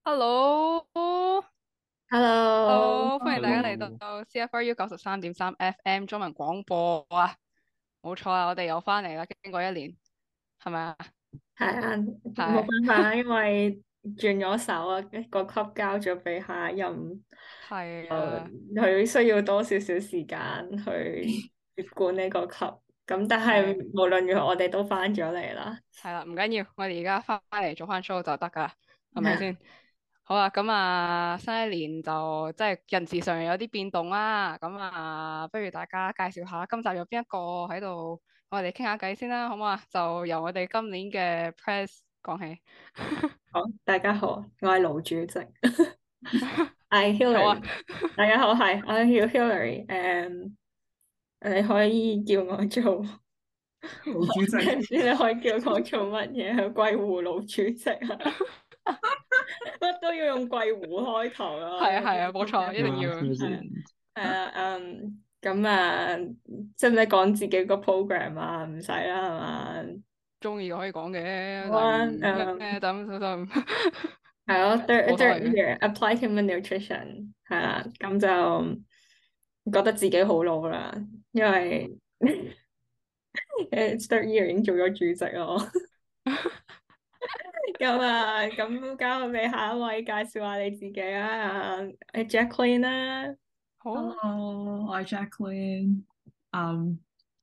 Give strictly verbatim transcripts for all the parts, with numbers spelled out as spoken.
Hello，Hello， Hello， 歡迎大家嚟 Hello， 到 C F R U 九十三點三 F M 中文廣播啊！冇錯啊，我哋又翻嚟啦，經過一年，係咪啊？ 係啊，冇係辦法啦，因為轉咗手啊，個級交咗俾下一任，誒， 係啊， 佢需要多少少時間去接管呢個級，咁但係係無論如何，我哋都翻咗嚟啦。 係啦，唔緊要，我哋而家翻嚟做翻 show 就得噶啦，係咪係先？好啊，咁啊，新一年就即係人事上有啲變動啦，咁啊，不如大家介紹下今集有邊一個喺度，我哋傾下偈先啦，好唔好啊？就由我哋今年嘅 press 講起。 好，大家好，我係盧主席，係好啊。 Hillary，大家好，係我叫 Hillary，誒，你可以叫我做， 盧主席。 唔知你可以叫我做乜嘢？貴湖盧主席啊！乜都要用貴湖開頭啊！ 係啊係啊，冇錯，一定 Class 要。 係 President。 係啊，嗯，咁啊，使唔使講自己個 program 啊？唔使啦，係嘛？ 中意可以講嘅，但好啊， 係咩嗯， 等等等， 係咯，third 冇所 third 謂嘅。 year applied human nutrition 係啦，咁就覺得自己好老啦，因為誒 third year 已經做咗主席咯。咁啊，咁交俾下一位介紹下你自己啊，誒 Jacqueline 啦。 好啊。 Hello，我係 Jacqueline。嗯，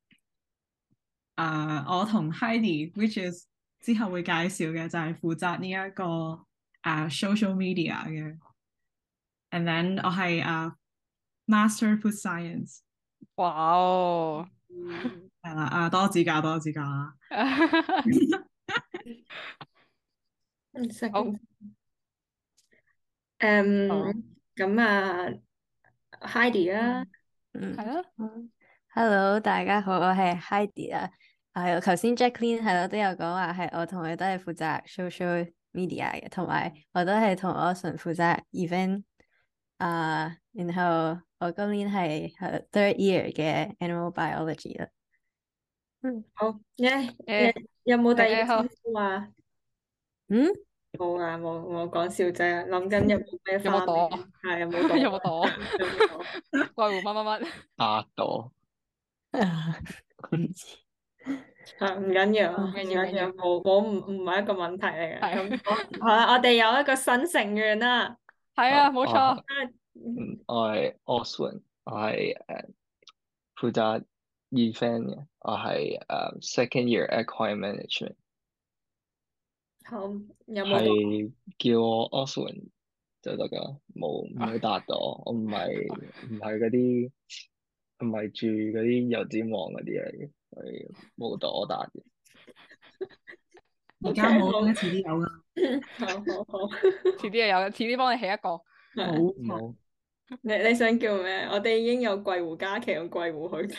啊，我同 Heidi，which is 之後會介紹嘅就係負責呢一個啊 social media 嘅。And then 我係啊 Master Food Science。 哇哦。 嗯， 係啦，啊多指教多指教啊。 一好。 second。 好。 誒，咁啊，Heidi 啊， 嗯嗯係啊。 嗯，Hello，大家好，我係 Heidi 啊。係，頭先 Jacqueline 係咯都有講話係我同佢都係負責 social media 嘅，同埋我都係同 Ocean 負責 event 啊。然後我今年係係 third year 嘅 animal biology 啦。嗯好，耶耶， 誒有冇第二個稱誒好。 呼啊？ 嗯， 冇啊，冇冇講笑啫，諗緊有冇咩花名？ 有冇朵？ 係有冇朵？ 有冇朵？ 有冇朵？ 怪狐乜乜乜？ 八朵。 唔知， 係唔緊要， 唔唔緊要唔緊要。 緊要，冇冇唔唔係一個問題嚟嘅。咁係。 好好啦，我哋有一個新成員啦。 好， 係啊，冇我係錯。 嗯嗯，我係 Oswin，我係誒負責 event 嘅，我係誒 second year aquarium management。 好，有冇朵？ 係叫我 Oswin 就得噶，冇唔好答到我，我唔係唔係嗰啲唔係住嗰啲油尖旺嗰啲嚟嘅，所以冇得我答嘅。 O 而 K， 家冇好， 咧，遲啲有噶。 好好好。 遲啲又有，遲啲幫你起一個。 係冇冇。 你你想叫咩？我哋已經有貴湖嘉琪同貴湖許廷，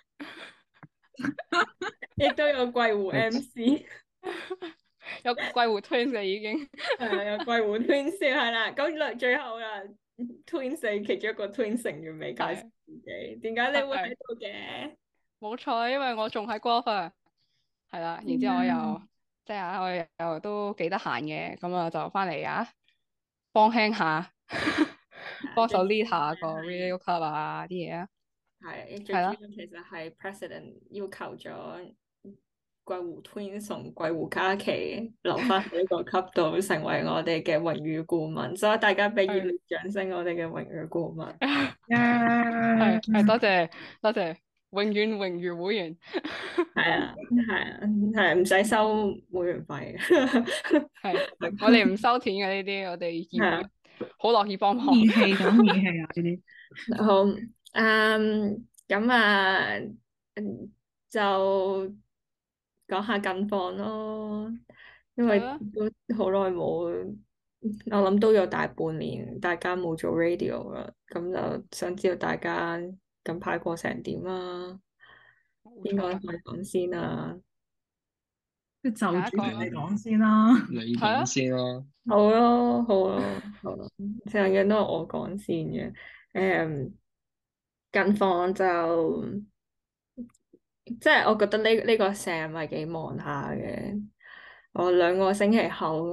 亦都有貴湖 M C， 有貴狐 twins 嘅已經。 係啊，有貴湖 Twins 係啦。咁嚟最後啦，Twins 其中一個 Twins 成員未介紹係自己，點解你會喺係度嘅？ 冇錯，因為我仲喺 golf 啊。係啦，然之後我又即係啊，我又又都幾得閒嘅，咁啊就翻嚟啊，幫輕下，幫手最主 lead 要下個係 radio club 啊啲嘢啊。 係最係啦。 主要其實係 President 要求咗貴湖 Twins 同貴湖嘉琪留翻喺呢個級度，成為我哋嘅榮譽顧問，所以大家俾熱係。 烈掌聲，我哋嘅榮譽顧問。 係耶！ 係多謝多謝，永遠榮譽會員。 係啊，係啊，係唔使收會員費嘅。 係，我哋唔收錢嘅呢啲，我哋係啊， 義好樂意幫忙。 義氣講義氣啊！呢啲好，嗯，咁啊，嗯就講下近況咯，因為係啊。 都好耐冇，我諗都有大半年，大家冇做 radio 啦，咁就想知道大家近排過成點啊？邊個冇錯啊。 可以講先啊？ 即係就主席下一個啊。 嚟講先啦。你係啊。 講先啦。 好咯，好咯，好咯，成日都係我講先嘅。誒、近況就即係我覺得呢呢個 Sam 係幾忙下嘅。我兩個星期後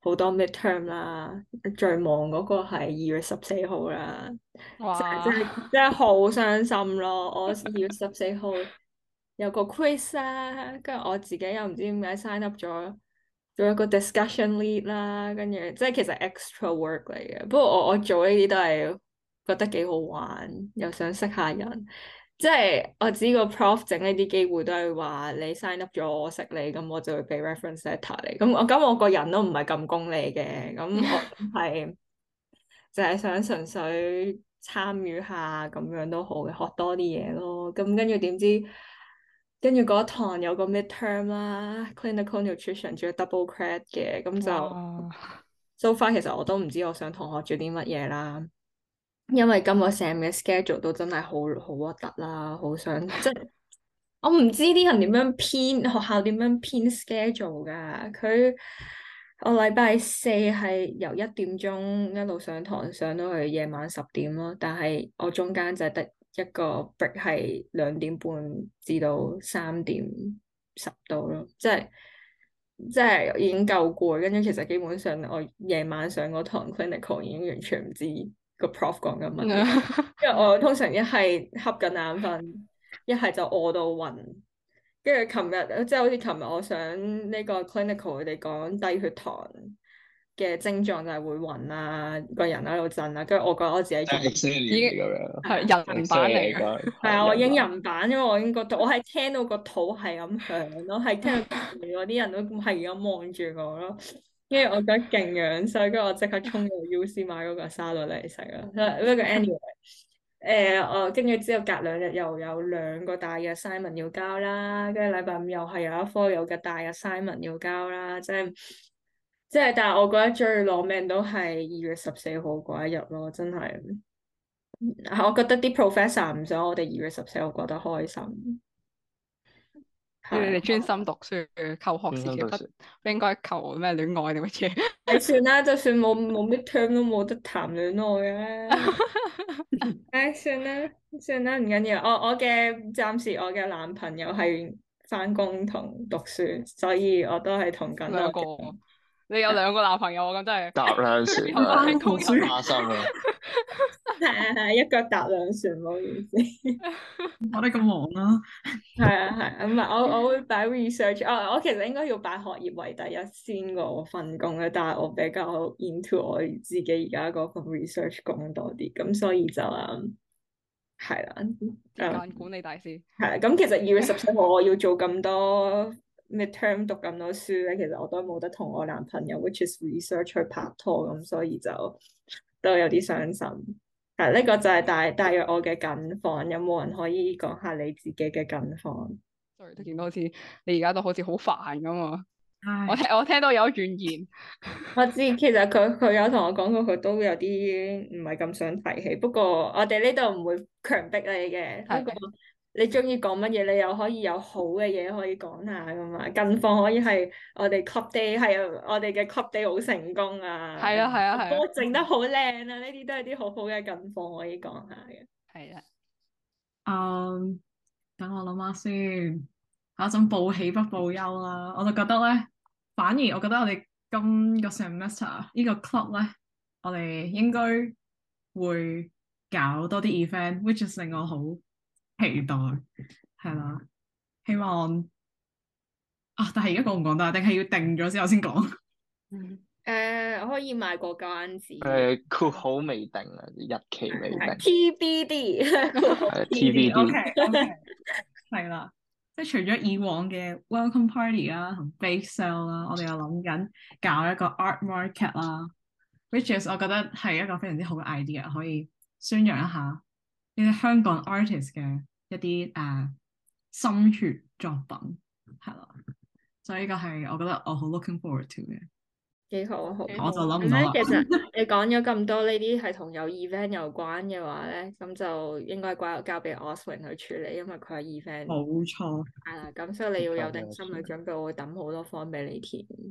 好多 midterm 啦，最忙嗰個係二月十四號啦， 哇！ 真係真係好傷心咯！我二月十四號有個 quiz 啦，跟住我自己又唔知點解 sign up 咗做一個 discussion lead 啦，跟住即係其實 extra work 嚟嘅。不過我我做呢啲都係覺得幾好玩，又想識下人。即係我知個 prof 整呢啲機會都係話你 sign up 咗我識你，咁我就會俾 reference letter 你。咁我咁我個人都唔係咁功利嘅，咁我係就係想純粹參與下咁樣都好嘅，學多啲嘢咯。咁跟住點知跟住嗰堂有個 midterm 啦，clinical nutrition 仲要 double credit 嘅，咁就哇 so far 其實我都唔知我想同學做啲乜嘢啦。因為今個 sem 嘅 schedule 都真係好好核突啦，好想即係我唔知啲人點樣編學校點樣編 schedule 噶。佢我禮拜四係由一點鐘一路上堂上到去夜晚十點咯，但係我中間就係得一個 break 係兩點半至到三點十度咯，即係即係已經夠攰。跟住其實基本上我夜晚上嗰堂 clinical 已經完全唔知個 prof 講緊乜嘢，因為我通常一係瞌緊眼瞓，一係就餓到暈。跟住琴日即係好似琴日我上呢個 clinical 佢哋講低血糖嘅症狀就係會暈啊，個人喺度震啊，跟住我覺得我自己仲已經已經咁樣， 係人版嚟嘅， 係啊，我已經人版，因為我已經覺得我係聽到個肚係咁響咯，係聽到隔離嗰啲人都係咁望住我咯，跟住我覺得勁樣衰，跟住我即刻衝到 U C 買嗰個沙律嚟食啦。不過 anyway，誒我跟住之後隔兩日又有兩個大嘅 assignment 要交啦，跟住禮拜五又係有一科有嘅大嘅 assignment 要交啦，即係即係，但係我覺得最攞命都係二月十四號嗰一日咯，真係。我覺得啲 professor 唔想我哋二月十四號過得開心， 要你哋係專心讀書，求學時期不不應該求咩戀愛定乜嘢？ 你算啦，就算冇冇 midterm 都冇得談戀愛嘅。唉，算啦算啦，唔緊要。我我嘅暫時我嘅男朋友係返工同讀書，所以我都係同緊兩我嘅個，你有兩個男朋友咁真係搭兩船又翻啊， 工又花心啊！ 係係係一腳踏兩船，唔好意思。 我哋咁忙啦， 係啊係，唔係我我會擺 research，我我其實應該要擺學業為第一先過我份工嘅，但係我比較 into 我自己而家嗰份 research 工多啲，咁所以就誒係啦， 時間管理大師。 係啦，咁其實二月十四號我要做咁多 midterm 讀咁多書咧，其實我都冇得同我男朋友 which is research 去拍拖，咁所以就都有啲傷心。係呢個就係大大約我嘅近況，有冇人可以講下你自己嘅近況？ sorry，都見到好似你而家都好似好煩咁啊！ 唉我聽我聽到有怨言， 我知其實佢佢有同我講過，佢都有啲唔係咁想提起。不過我哋呢度唔會強迫你嘅。 係不過你中意講乜嘢，你又可以有好嘅嘢可以講下噶嘛。近況可以係我哋 club day 係啊，我哋嘅 club day 好成功啊。 係啊係啊係啊我整得好靚啊！呢啲都係啲好好嘅近況可以講下嘅。 係啊， 嗯，等我諗下先，有一種報喜不報憂啦。我就覺得咧，反而我覺得我哋今個 semester 呢個 club 咧，我哋應該會搞多啲 event，which is 令我好期待，係啦。希望啊，但係而家講唔講得啊？定係要定咗之後先講？ 誒，我可以賣個關子。 誒，括號未定啊，日期未定。 T B D， 係 T B D。 OK，OK，係啦。即係除咗以往嘅 welcome party 啦同 bake sale 啦，我哋又諗緊搞一個 art market 啦，which is 我覺得係一個非常之好嘅 idea，可以宣揚一下呢啲香港 artist 嘅一啲誒、uh, 心血作品，係啦。所以呢個係我覺得我好 looking forward to 嘅。 幾好好， 幾好我就諗唔咁咧， 到啦。 其實你講咗咁多呢啲係同有 event 有關嘅話咧，咁就應該交交俾 Oswin 去處理，因為佢係 event 冇錯， 係啦，咁所以你要有定心理準備，我會抌好多 form 俾你填。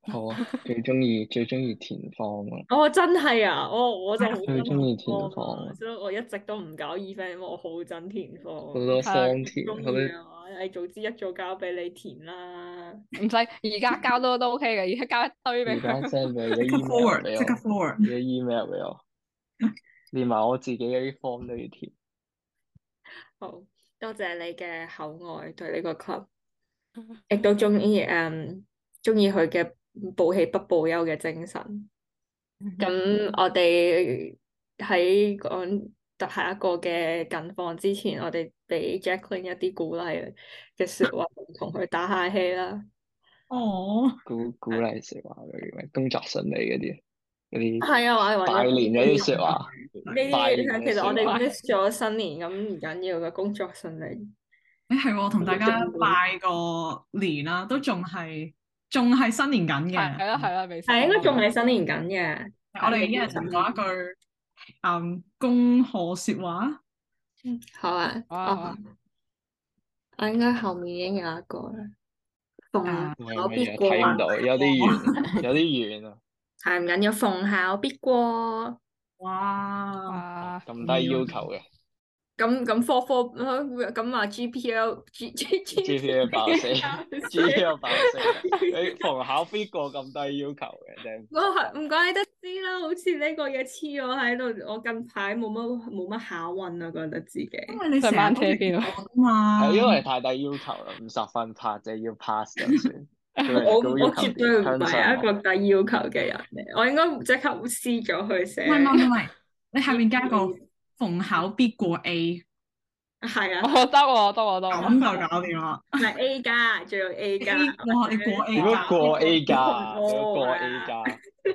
好啊，最中意最中意田方啊， 哦，真係啊！我我就好最中意田憎田方啊， 方啊，所以我一直都唔搞 event，因為我好憎田方。 好多係啊方田， 中好多意嘅話，你早知一早交俾你填啦。 唔使而家交都都 OK 嘅，而家交一堆俾而家佢。 send 俾個即刻 email forward， 俾即刻我， forward。 你嘅 email 俾我，連埋我自己嗰啲 form 都要填。 好多謝你嘅厚愛對呢個 club，亦都中意誒中意佢嘅報喜不報憂嘅精神。咁我哋喺講下一個嘅近況之前，我哋俾 Jacqueline 一啲鼓勵嘅説話，同佢打下氣啦。 哦， 鼓鼓勵説話嗰啲咩工作順利嗰啲嗰啲係啊，我係拜揾咗年嗰啲説話， 呢拜年嘅啲其實我哋説話， miss 咗新年，咁唔緊要嘅，工作順利。 誒係喎，同大家拜個年啦，都仲係仲係新年緊係嘅。 啦係啦，未係應該仲係係新年緊嘅。 我哋一人講一句誒恭賀説話。 好啊， 好啊我我應該後面已經有一個啦。逢誒考必係咪啊？ 過啊， 睇唔到，有啲遠，有啲遠啊！ 係唔緊要，逢考必過。 哇！ 哇， 咁低要求嘅咁咁科科咁啊 G P L G G G P A 爆死，G P A 爆死，你逢考必過咁低要求嘅啫。 我係唔怪得知啦，好似呢個嘢黐我喺度，我近排冇乜冇乜考運啊，覺得自己。 因為你成上日都班車邊啊啊嘛， 係因為太低要求啦，五十分拍就要 pass 就算。 我我高要求絕對唔向係一上個低要求嘅人嚟，我應該即刻撕咗佢寫。 唔係唔係唔係，你下面加個逢考必過 A， 係啊， 我得喎得喎得咁喎， 就搞掂啦。 唔係 A 加，仲有 A 加。 A 哇，你過 A 點樣加過 A 加？ 哦點樣過係 A 啊加？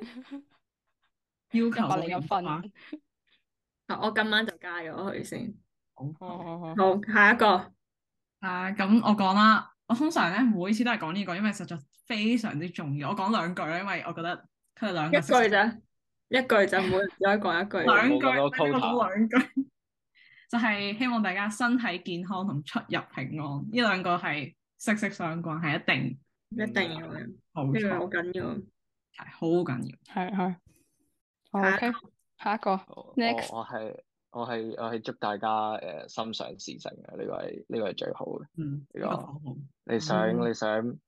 要求好一百零一分。 嚴啊！ 我今晚就加咗佢先。 好好好， 好，下一個。 啊，咁我講啦，我通常咧每次都係講呢個，因為實在非常之重要。我講兩句啦，因為我覺得佢哋兩個一句咋？一句就每人只可以講一句。 兩句， 冇咁多我 quota 講兩句，就係希望大家身體健康同出入平安，呢兩個係息息相關，係一定一定要嘅， 冇呢個好錯， 緊要。 係好緊要。 係係。好下一 OK，下一個我 next。 我係我係我係祝大家誒心想事成嘅，呢個係呢個係最好嘅。 嗯， 呢個呢個好好。 你想嗯你想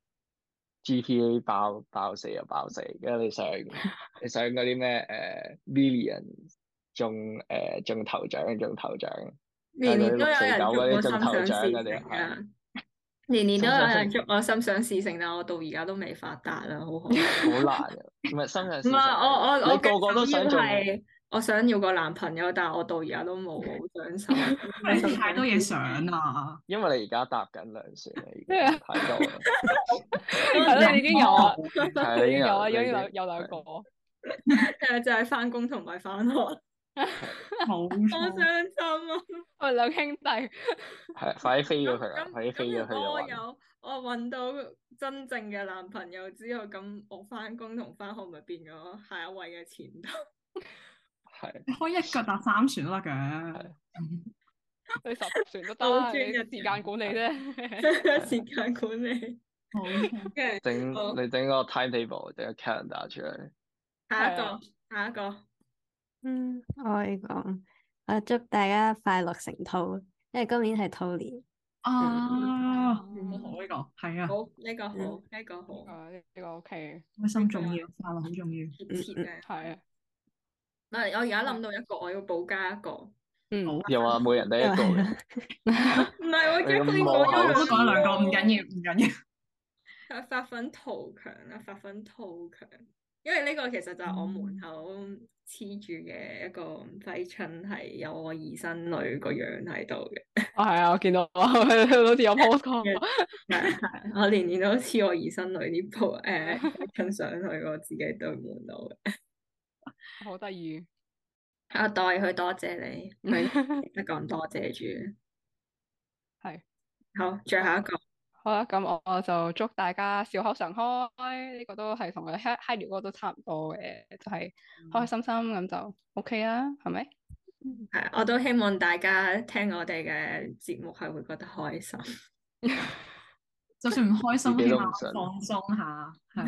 G P A 爆爆四就爆四，跟住你想你想嗰啲咩誒 million 中誒中頭獎中頭獎， 年年都有人祝我心中頭想事獎嗰啲成啊！ 係年年都有人心祝我心想事成，但我到而家都未發達啦，好可惜。 好難嘅，唔係心想事成唔係我我我你個個都想中， 係我想要個男朋友，但係我到而家都冇，好想受。 你太多嘢想啦， 因為你而家搭緊兩船啦，已經太多啦。 係咯，你已經有啦， 係你已經有啦， 啊已經有有兩個。 誒就係翻工同埋翻學，好冇傷錯。 心啊！ 我哋兩兄弟。 係快啲飛咗佢啦， 咁快啲飛咗佢咁如果我就有我揾到真正嘅男朋友之後，咁我翻工同翻學咪變咗下一位嘅前度。 係你可以一腳踏三船都得嘅。 你十船都得， 倒轉日你時間管理啫。 時間管理。 冇錯。 跟住整好你整個 timetable，整個 calendar 出嚟。 下一個係啊， 下一個。 嗯，我可以講，我祝大家快樂成兔，因為今年係兔年。 啊，好嗯好呢個，係啊， 好，呢個好，呢個好， 啊，呢個 OK， 開心重要，快樂好重要。 貼切嘅。 係啊， 嗱，我而家諗到一個，我要補加一個。 嗯， 好又話每人得一個嘅， 唔係我你咁 Jacqueline 冇口講咗我都講兩個，唔緊要。 要，唔緊要。 係發奮圖強啊！發奮圖強，因為呢個其實就係我門口黐住嘅一個揮春，係有我二甥女個樣喺度嘅。 啊係啊，我見到好似有 post 過。 係係，我年年都黐我二甥女啲鋪誒揮春上去我自己對門度嘅。 好得意。 我代佢多謝你，佢一講多謝住。 係。 好，最後一個。 好啦，咁我我就祝大家笑口常開，呢、個都係同佢 hi hi 聊嗰個都差唔多嘅，就係、開開心心咁就 OK 啦，係咪？ 係，我都希望大家聽我哋嘅節目係會覺得開心。 就算唔開心，起自己都唔信碼放鬆下，係啊。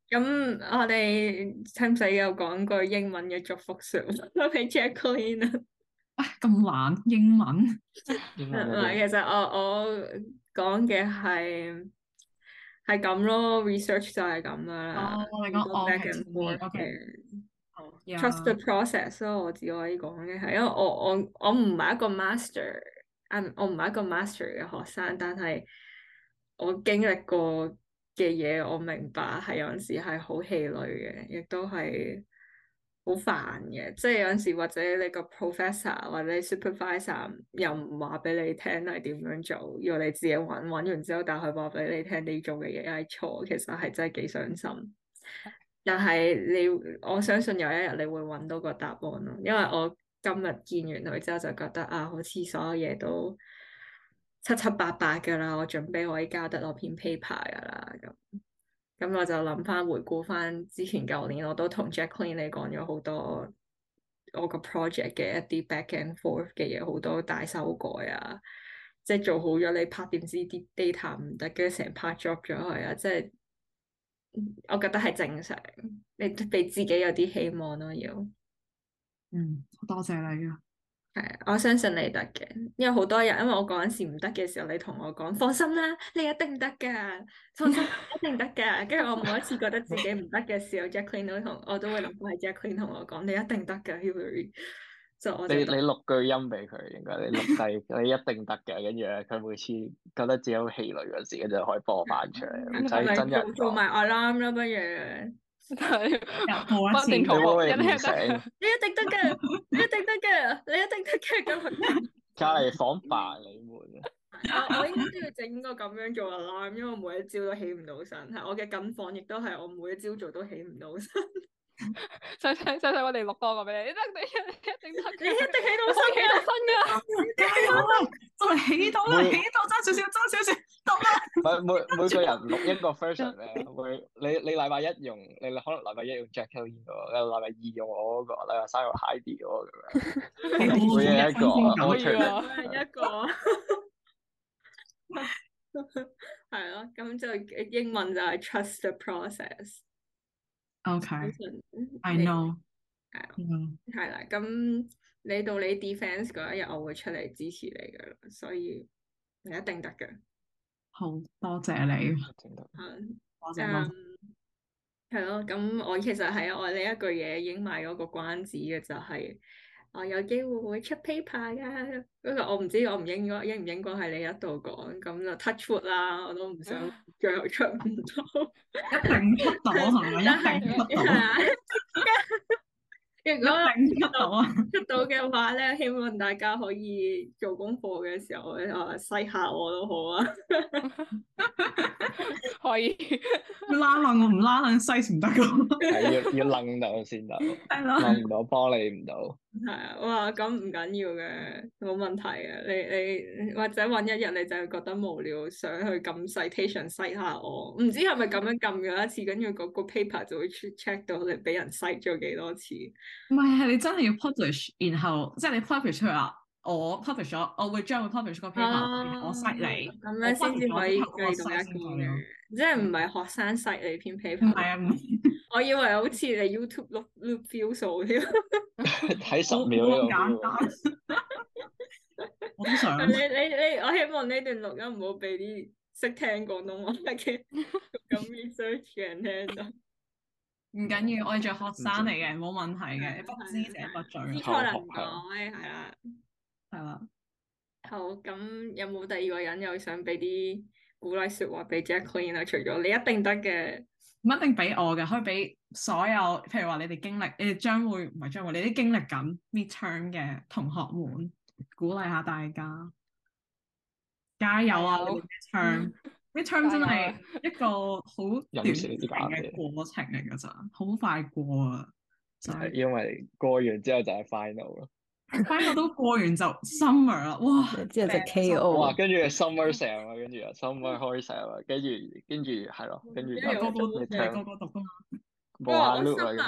咁我哋使唔使又講句英文嘅祝福說話俾 Jacqueline 啊？ 唉，咁難英文。 英唔文嗰啲係，其實我我講嘅係係咁咯，research 就係咁噶啦， 哦，你講好多 back OK and to me forth OK 嘅。 好 Trust the ，yeah， process 咯，我只可以講嘅係，因為我我我唔係一個 master，啊我唔係一個 master 嘅學生，但係我經歷過嘅嘢，我明白係有陣時係好氣餒嘅，亦都係好煩嘅。即係有陣時或者你個 professor 或者 supervisor 又唔話俾你聽係點樣做，要你自己揾，揾完之後，但係佢話俾你聽你做嘅嘢係錯，其實係真係幾傷心。但係你，我相信有一日你會揾到個答案咯，因為我今日見完佢之後就覺得啊，好似所有嘢都七七八八噶啦，我準備可以交得我篇 paper 噶啦，咁咁我就諗翻回顧翻之前舊年，我都同 Jacqueline 你講咗好多我個 project 嘅一啲 back and forth 嘅嘢，好多大修改啊，即係做好咗你拍點知啲 data 唔得，跟住成 part drop 咗佢啊，即係。我覺得係正常，你俾自己有啲希望咯，要嗯，多謝你啊。 係，我相信你得嘅，因為好多人，因為我嗰陣時唔得嘅時候，你同我講放心啦，你一定得噶，放心，一定得噶。跟住我每一次覺得自己唔得嘅時候，Jacqueline 都同我都會諗翻係 Jacqueline 同我講，你一定得噶，Hillary，就我就得。 你你錄句音俾佢，應該你錄低，你一定得嘅。跟住咧，佢每次覺得自己好氣餒嗰時，跟住就可以播翻出嚟，唔咁係咪使真人講。 做做埋 alarm 啦，不如？ 播一次， 不斷重你會唔會複，一定唔醒？ 你一定得噶，你一定得噶，你一定得噶咁。 隔離房扮你們啊！ 我我應該都要整個咁樣做 alarm，因為我每一朝都起唔到身。係我嘅近況，亦都係我每一朝做都起唔到身。 使使使使我哋錄多個俾你，你得你一定得嘅， 你一定起到我起到身身噶。 加油啊！就嚟起到啦， 每起到爭少少，爭少少，得啦。 每每每個人錄一個 version 咧，會你你禮拜一用，你可能禮拜一用 Jacqueline 嗰個，禮拜二用我嗰個，禮拜三用 Heidi 嗰個咁樣，每日一個可以啊 alternate 每日一個。係咯，咁就英文就係 trust the process。相 OK，I 信 know。 係啊， 嗯， 係啦。咁你到你 defense 嗰一日，我會出嚟支持你噶啦，所以你一定得嘅。 好多謝你， 嗯， 多謝多謝。 係咯，咁我其實係我呢一句嘢已經賣咗個關子嘅，就係、我有機會會出 paper 噶。不過我唔知我唔應該應唔應該喺你一度講，咁就 touch wood 啦，我都唔想最後出唔到。 一定出到係咪？一定出到， 係啊，如果一定出到啊！ 出到嘅話咧，希望大家可以做功課嘅時候，啊，西下我都好啊。 可以。 拉楞我唔拉楞西唔得噶， 係要要楞到先得， 係咯。 楞唔到幫你唔到。 係啊，哇，咁唔緊要嘅，冇問題嘅。你你或者揾一日你就係覺得無聊，想去撳 citation cite 下我，唔知係咪咁樣撳咗一次，跟住嗰個 paper 就會 check 到你俾人 cite 咗幾多次。 唔係，係你真係要 publish，然後即係你 publish 出嚟話，我 publish 咗，我會將會 publish 個 paper，然後我 cite 你， 咁樣先至可以計到一個嘅，即係唔係學生 cite 你篇 paper。 唔係啊，唔係。 我以為好似你 YouTube loop loop view 數添。 睇十秒呢個冇咁簡單。我都想。 你你你，我希望呢段錄音唔好俾啲識聽廣東話嘅咁 research 嘅人聽到。 唔緊要，我哋做學生嚟嘅，冇問題嘅，不知者不罪。 知錯能改，係啦。 係啦。 好，咁有冇第二個人又想俾啲鼓勵説話俾 Jacqueline 啊？除咗你一定得嘅， 唔一定俾我嘅，可以俾所有，譬如話你哋經歷，你哋將會唔係將會，你啲經歷緊 midterm 嘅同學們，鼓勵下大家，加油啊！你哋 midterm，midterm 真係一個好短時嘅過程嚟㗎咋，好快過啊！就係因為過完之後就係 final 咯。 final 都過完就 summer 啦，哇！ 之後就 K 哇， O。 跟住 summer sale 啊，跟住啊 summer 開 sale 啊，跟住跟住係咯，跟住就個個個 midterm 個讀㗎嘛。 冇下 loop 啊，跟住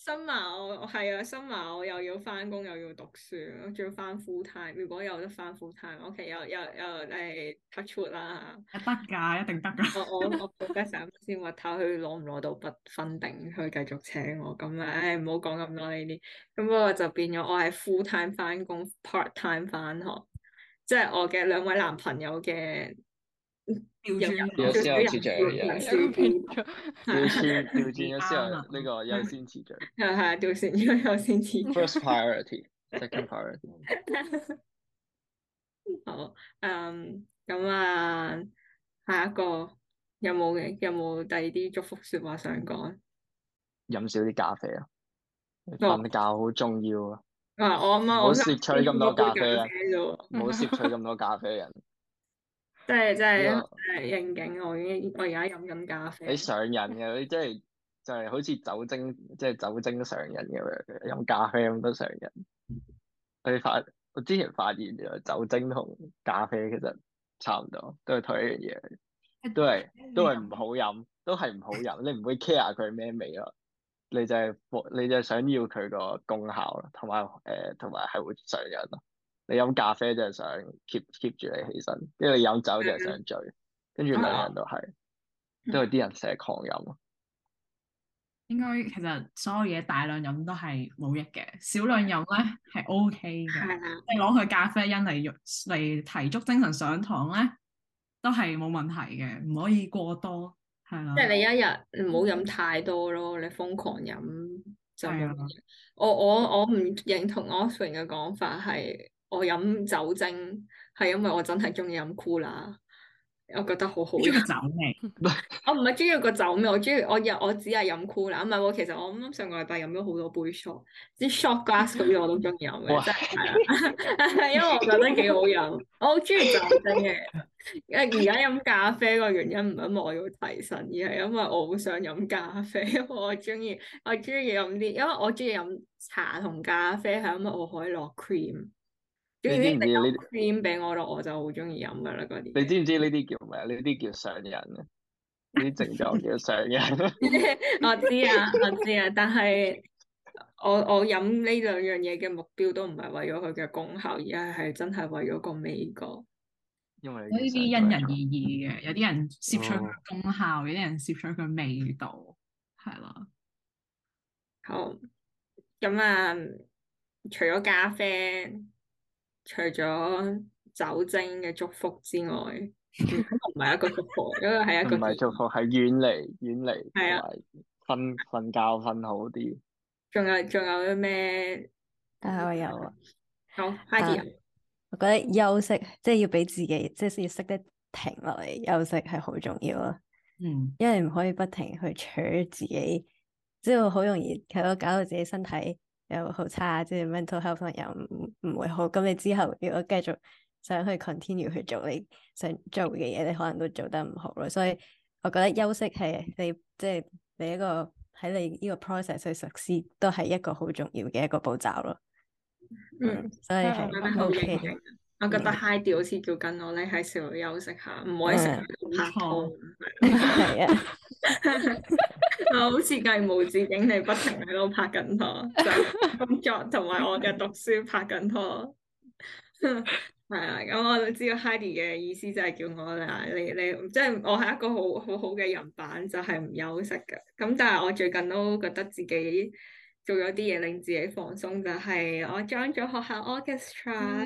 新馬我我係啊，新馬我又要翻工又要讀書，我仲要翻 full time。如果有得翻 full time，OK，有有有誒 touch wood 啦。 得㗎，一定得㗎。 我我我報得成先話睇佢攞唔攞到筆分定，去繼續請我咁啊！唉，唔好講咁多呢啲。咁不過就變咗我係 full time 翻工，part time 翻學，即係我嘅兩位男朋友嘅調有轉有先有次序人嘅， 人有個變數咗， 調轉調轉咗先啱啦有呢個優先次序係係調轉咗優先次序。 ，first priority，second priority。 好，嗯，咁啊，下一個有冇嘅？有冇第二啲祝福說話想講？ 飲少啲咖啡啊， 哦瞓覺好重要啊， 啊，我啱唔好啱我想攝取咁多咖啡啊， 飲咗杯啫喎。 唔好攝取咁多咖啡人。 即係即係呢個誒應景，我已經我而家飲緊咖啡。 你上癮嘅，你即係就係好似酒精，即係酒精上癮咁樣，飲咖啡咁都上癮。我發我之前發現咗酒精同咖啡其實差唔多，都係同一樣嘢，都係都係唔好飲，都係唔好飲。你唔會 care 佢咩味咯，你就係你就係想要佢個功效咯，同埋誒同埋係會上癮咯。你飲咖啡就係想 keep keep 住你起身，跟住你飲酒就係想醉，跟住兩樣都係，都係啲人成日狂飲咯。 應該其實所有嘢大量飲都係冇益嘅，少量飲咧係 O K 嘅。 係啊， 你攞佢咖啡因嚟嚟提足精神上堂咧，都係冇問題嘅，唔可以過多，係啦即。係你一日唔好飲太多咯，你瘋狂飲就冇係啊乜嘢。我我我唔認同 Oswin 嘅講法，係我飲酒精係因為我真係中意飲 Cooler，我覺得好好飲。 中意酒味， 我唔係中意個酒味，我中意我飲我只係飲 Cooler，唔係喎。其實我啱啱上個禮拜飲咗好多杯 shot，啲 shot glass 嗰啲我都中意飲嘅， 哇真係係啊，因為我覺得幾好飲，我好中意酒精嘅。誒而家飲咖啡個原因唔係因為我要提神，而係因為我好想飲咖啡，因為我中意我中意飲啲，因為我中意飲茶同咖啡係因為我可以落 cream，總你之你有知唔知呢？ cream 俾我咯，我就好中意飲噶啦嗰啲你嘢。 知唔知呢啲叫咩啊？呢啲叫上癮啊！呢啲症狀叫上癮。 我知啊，我知啊，但係我我飲呢兩樣嘢嘅目標都唔係為咗佢嘅功效，而係係真係為咗個味覺。 因為呢啲因人而異嘅，有啲人攝取佢功效，有啲人攝取佢味道，係啦。 好，咁啊，除咗咖啡，除咗酒精嘅祝福之外，唔係一個祝福，因為係一個唔係祝福，係遠離遠離， 係啊， 同埋瞓瞓覺瞓好啲。 仲有仲有啲咩？ 啊，我有啊。 好，Heidi 啊， 我覺得休息即係要俾自己，即係要識得停落嚟休息係好重要咯。 嗯， 因為唔可以不停去取自己，即係好容易係咯，搞到自己身體又好差，即係 mental health 又唔唔會好。咁你之後如果繼續想去 continue 去做你想做嘅嘢，你可能都做得唔好咯。所以我覺得休息係你即係你一個喺你呢個 process 去實施，都係一個好重要嘅一個步驟咯。 嗯， 所以我覺得係好 OK 認嘅。 同。我覺得 Heidi 好似叫緊我咧喺時候休息下，唔可以成日喺度拍拖。 係啊， 我好似繼無止境地不停喺度拍緊拖，就工作同埋我嘅讀書拍緊拖。係啊，咁我都知道 Heidi 嘅意思就係叫我啦，你你即係我係一個好好好嘅人版，就係唔休息嘅。咁但係我最近都覺得自己做咗啲嘢令自己放鬆，就係我 join 咗學校 orchestra。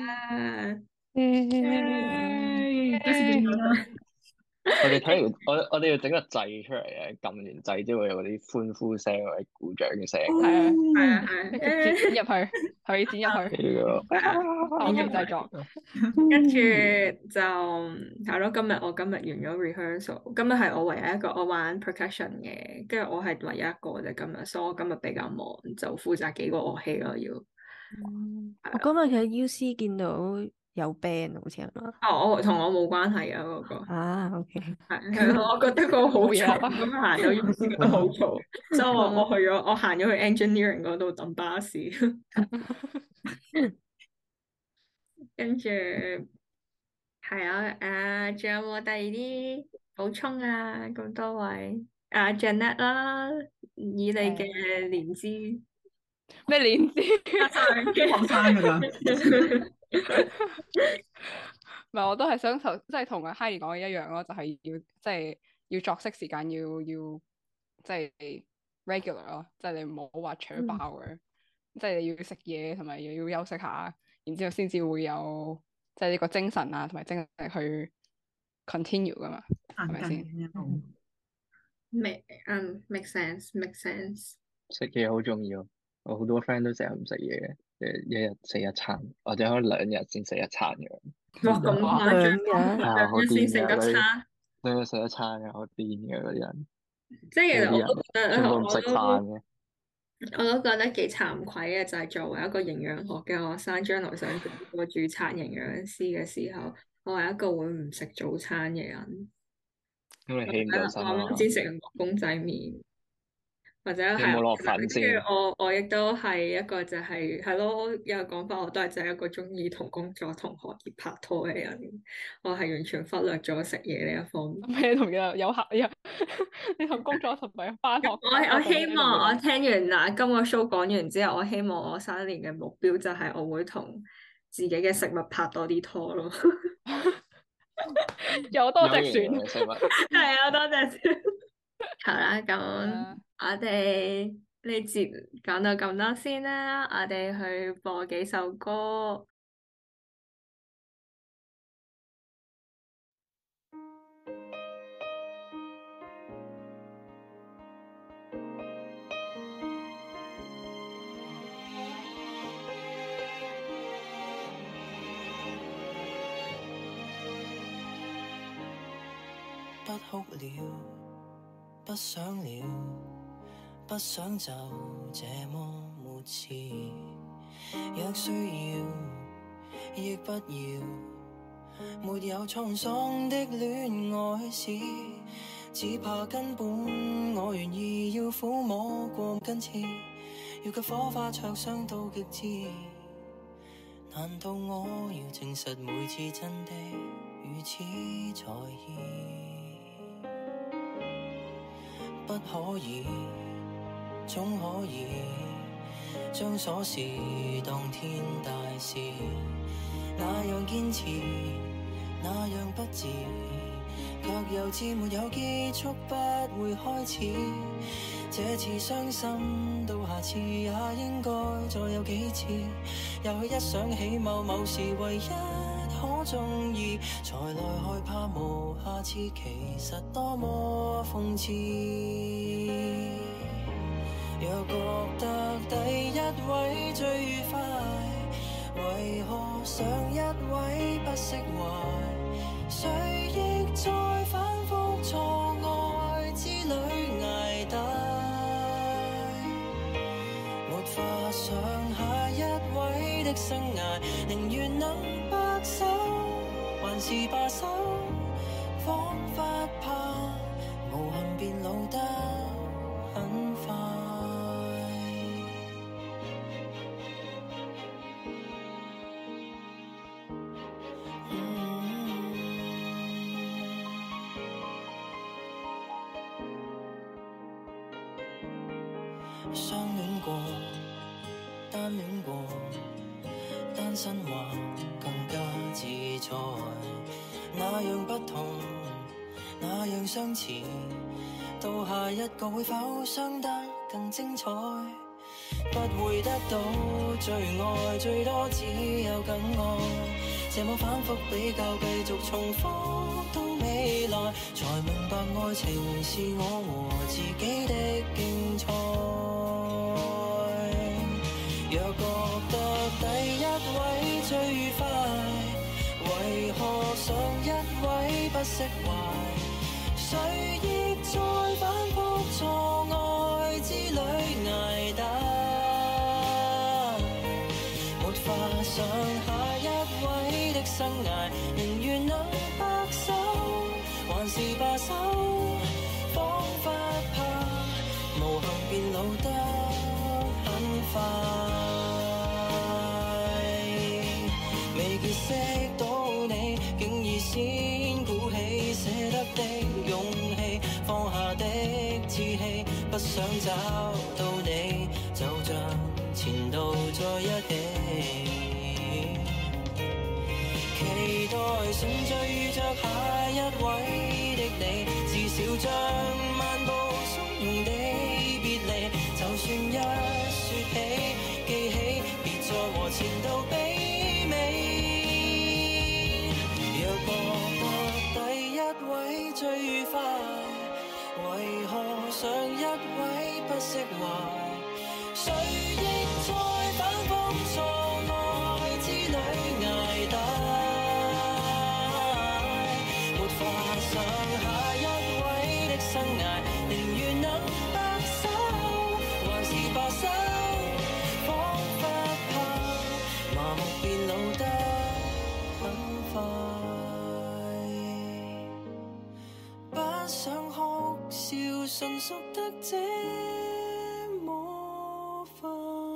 耶！幾時見面啊？ 我哋睇完，我我哋要整個掣出嚟嘅，撳完掣之後會有嗰啲歡呼聲或者鼓掌嘅聲。 係啊， 係啊係跟住剪入去，可以剪入去， 呢個後期製作。 跟住就係咯，今日我今日完咗 rehearsal，今日係我唯一一個我玩 percussion 嘅，跟住我係唯一一個啫今日，所以我今日比較忙，就負責幾個樂器咯要。 我今日喺 U C 見到有 band 好似係嘛？ 哦，我同我冇關係啊嗰個， 啊，OK。 係係咯，我覺得個好嘈， 冇嘢啊咁行到 U C 覺得好嘈，所以我我去咗，我行咗去 engineering 嗰度等巴士，跟住係啊，誒，仲有冇第二啲補充啊？咁多位。 阿 Janet 啦，以你嘅年資， 咩年資？ 啊，sorry， 後生㗎咋？ 唔係，我都係想頭即係同阿 Heidi 講嘅一樣咯，就係、要即係要作息時間要要即係 regular 咯，即係你唔好話扯爆嘅，即係你要食嘢同埋又要休息下，然之後先至會有即係呢個精神啊同埋精力去 continue 噶嘛，係咪先？ 先？ make 嗯 make sense make sense。 食嘢好重要，我好多 friend 都成日唔食嘢嘅，誒一日食一餐，或者可能兩日先食一餐嘅。 哇，咁誇張， 兩日係啊， 兩好日先食得癲嘅嗰啲， 餐， 兩日食一餐嘅，好癲嘅嗰啲人， 即係其實我有啲人都覺得， 全部唔食我都飯嘅。 我都覺得幾慚愧嘅，就係作為一個營養學嘅學生，將來想做一個註冊營養師嘅時候，我係一個會唔食早餐嘅人。 咁你起唔係啦， 到身啊嘛？ 我啱先食完個公仔麵，或者係你有冇落粉跟先？ 住我我亦都係一個就係係咯，有講法我都係就係一個中意同工作同學業拍拖嘅人，我係完全忽略咗食嘢呢一方面。 咩同有有客有你同工作同埋翻學？ 我我希望我聽完嗱今個 show 講完之後，我希望我新一年嘅目標就係我會同自己嘅食物拍多啲拖咯。 有多隻有型船。 嘅食物。 係啊，多謝。好啦，咁啊我哋呢節講到咁多先啦，我哋去播幾首歌。 不哭了，不想了，不想就這麼沒刺。若需要，亦不要，沒有滄桑的戀愛史，只怕根本我願意要撫摸過根刺，要給火花灼傷到極致。難道我要證實每次真的如此在意？不可以，總可以將瑣事當天大事，那樣堅持，那樣不智，卻又知沒有結束，不會開始。這次傷心到下次也應該再有幾次，也許一想起某某事唯一可中意，才來害怕無下次，其實多麼諷刺。若覺得第一位最愉快，為何上一位不釋懷？誰亦在反覆錯愛之旅捱大，沒法想下一位的生涯，寧願能白首，還是罷手，彷彿怕無憾變老得很快。相戀過，單戀過，單身話更加自在，那樣不同，那樣相似，到下一個會否傷得更精彩？不會得到最愛，最多只有更愛，這麼反覆比較，繼續重複到未來，才明白愛情是我和自己的競賽。若覺得第一位最愉快，為何上一位不釋懷？誰亦在反覆錯愛之旅捱大，沒法想下一位的生涯，寧願能白首，還是罷手，彷彿怕無憾變老得很快。未結識到你，竟已先鼓起捨得的勇氣，放下的不想找到你，就像前度在一起。期待順序遇着下一位的你，至少將漫步鬆的別離，就算一說起記起，別再和前度媲美。若覺得第一位最愉快，為何上一位不釋懷？誰亦在反覆錯愛之旅捱大，沒法想下一位的生涯，寧願能白首，還是罷手，彷彿怕麻木變老得很快，不想哭笑純屬得這麼快。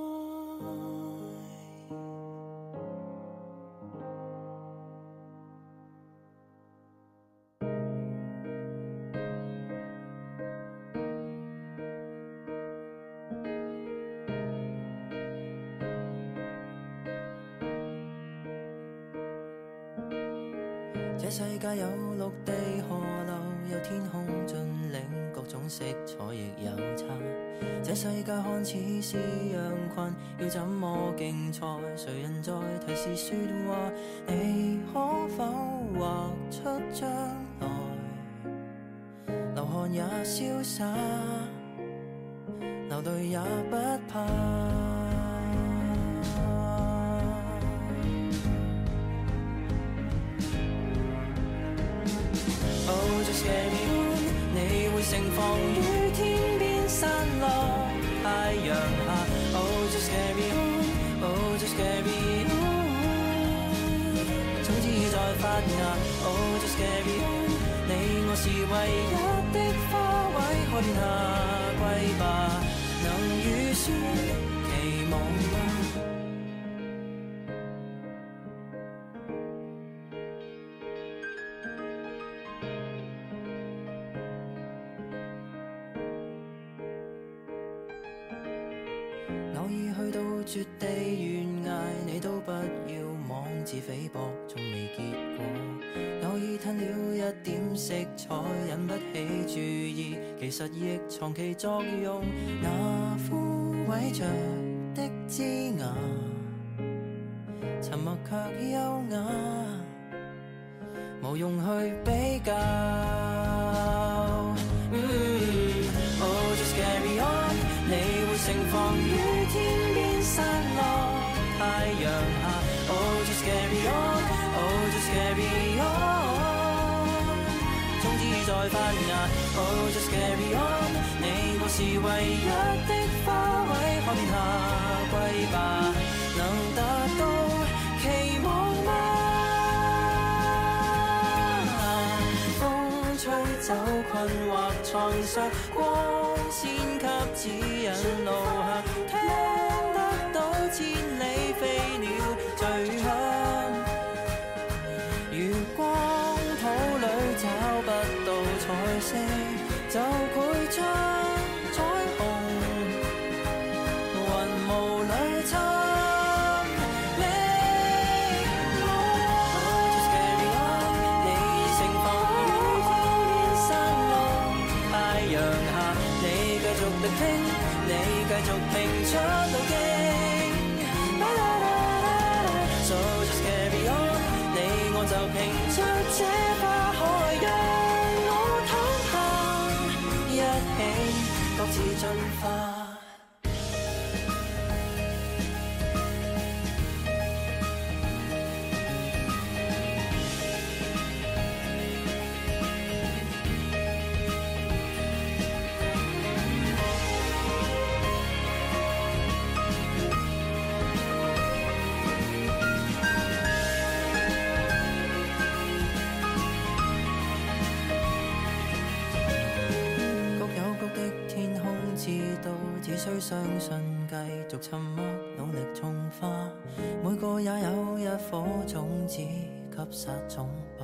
這世界有陸地河流，有天空峻嶺，各種色彩亦有差。這世界看似是羊群，要怎麼競賽？誰人在提示說話？你可否畫出將來？流汗也瀟灑，流淚也不怕。Oh just carry on， 你會盛放於天邊散落太陽下。Oh just carry on，Oh just carry on， 種子已在發芽。Oh just carry on， 你我是唯一的花卉，可殿下歸吧，能預算期望嗎？偶爾去到絕地懸崖，你都不要妄自菲薄，從未結果。偶爾吞了一點色彩，引不起注意，其實亦藏其作用。那枯萎着的枝芽，沉默卻優雅，無用去比較。Mm, oh just carry on， 你會盛放於天邊散落太陽下。Oh just carry on，Oh just carry on， 種子已在發芽。Oh just carry on， 你我是唯一的花卉，可殿下歸吧，能達到期望嗎？風吹走困惑創傷，光線給指引路向，聽得到千里飛鳥最響。如光譜裏找不到彩色，就繪出彩虹，雲霧裏尋覓夢。Oh just carry on， 你盛放於天邊散落太陽下，你繼續力拼，你繼續拼出路徑。So just carry on， 你我就拼出這花海，讓我躺下，一起各自進化。只需相信，繼續沉默，努力種花，每個也有一顆種子，給撒種吧。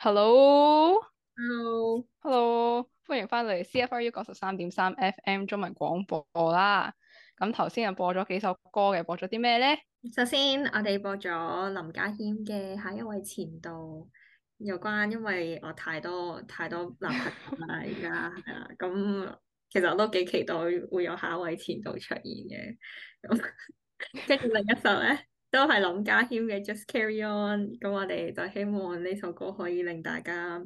Hello，Hello， Hello， 歡迎翻嚟 C F R U 九十三點三 F M 中文廣播啦。咁頭先又播咗幾首歌嘅，播咗啲咩咧？ 首先我哋播咗林家謙嘅《下一位前度》，有關因為我太多太多男朋友啦，而家係啦，咁其實我都幾期待會有下一位前度出現嘅。咁跟住另一首咧，都係林家謙嘅《Just Carry On》，咁我哋就希望呢首歌可以令大家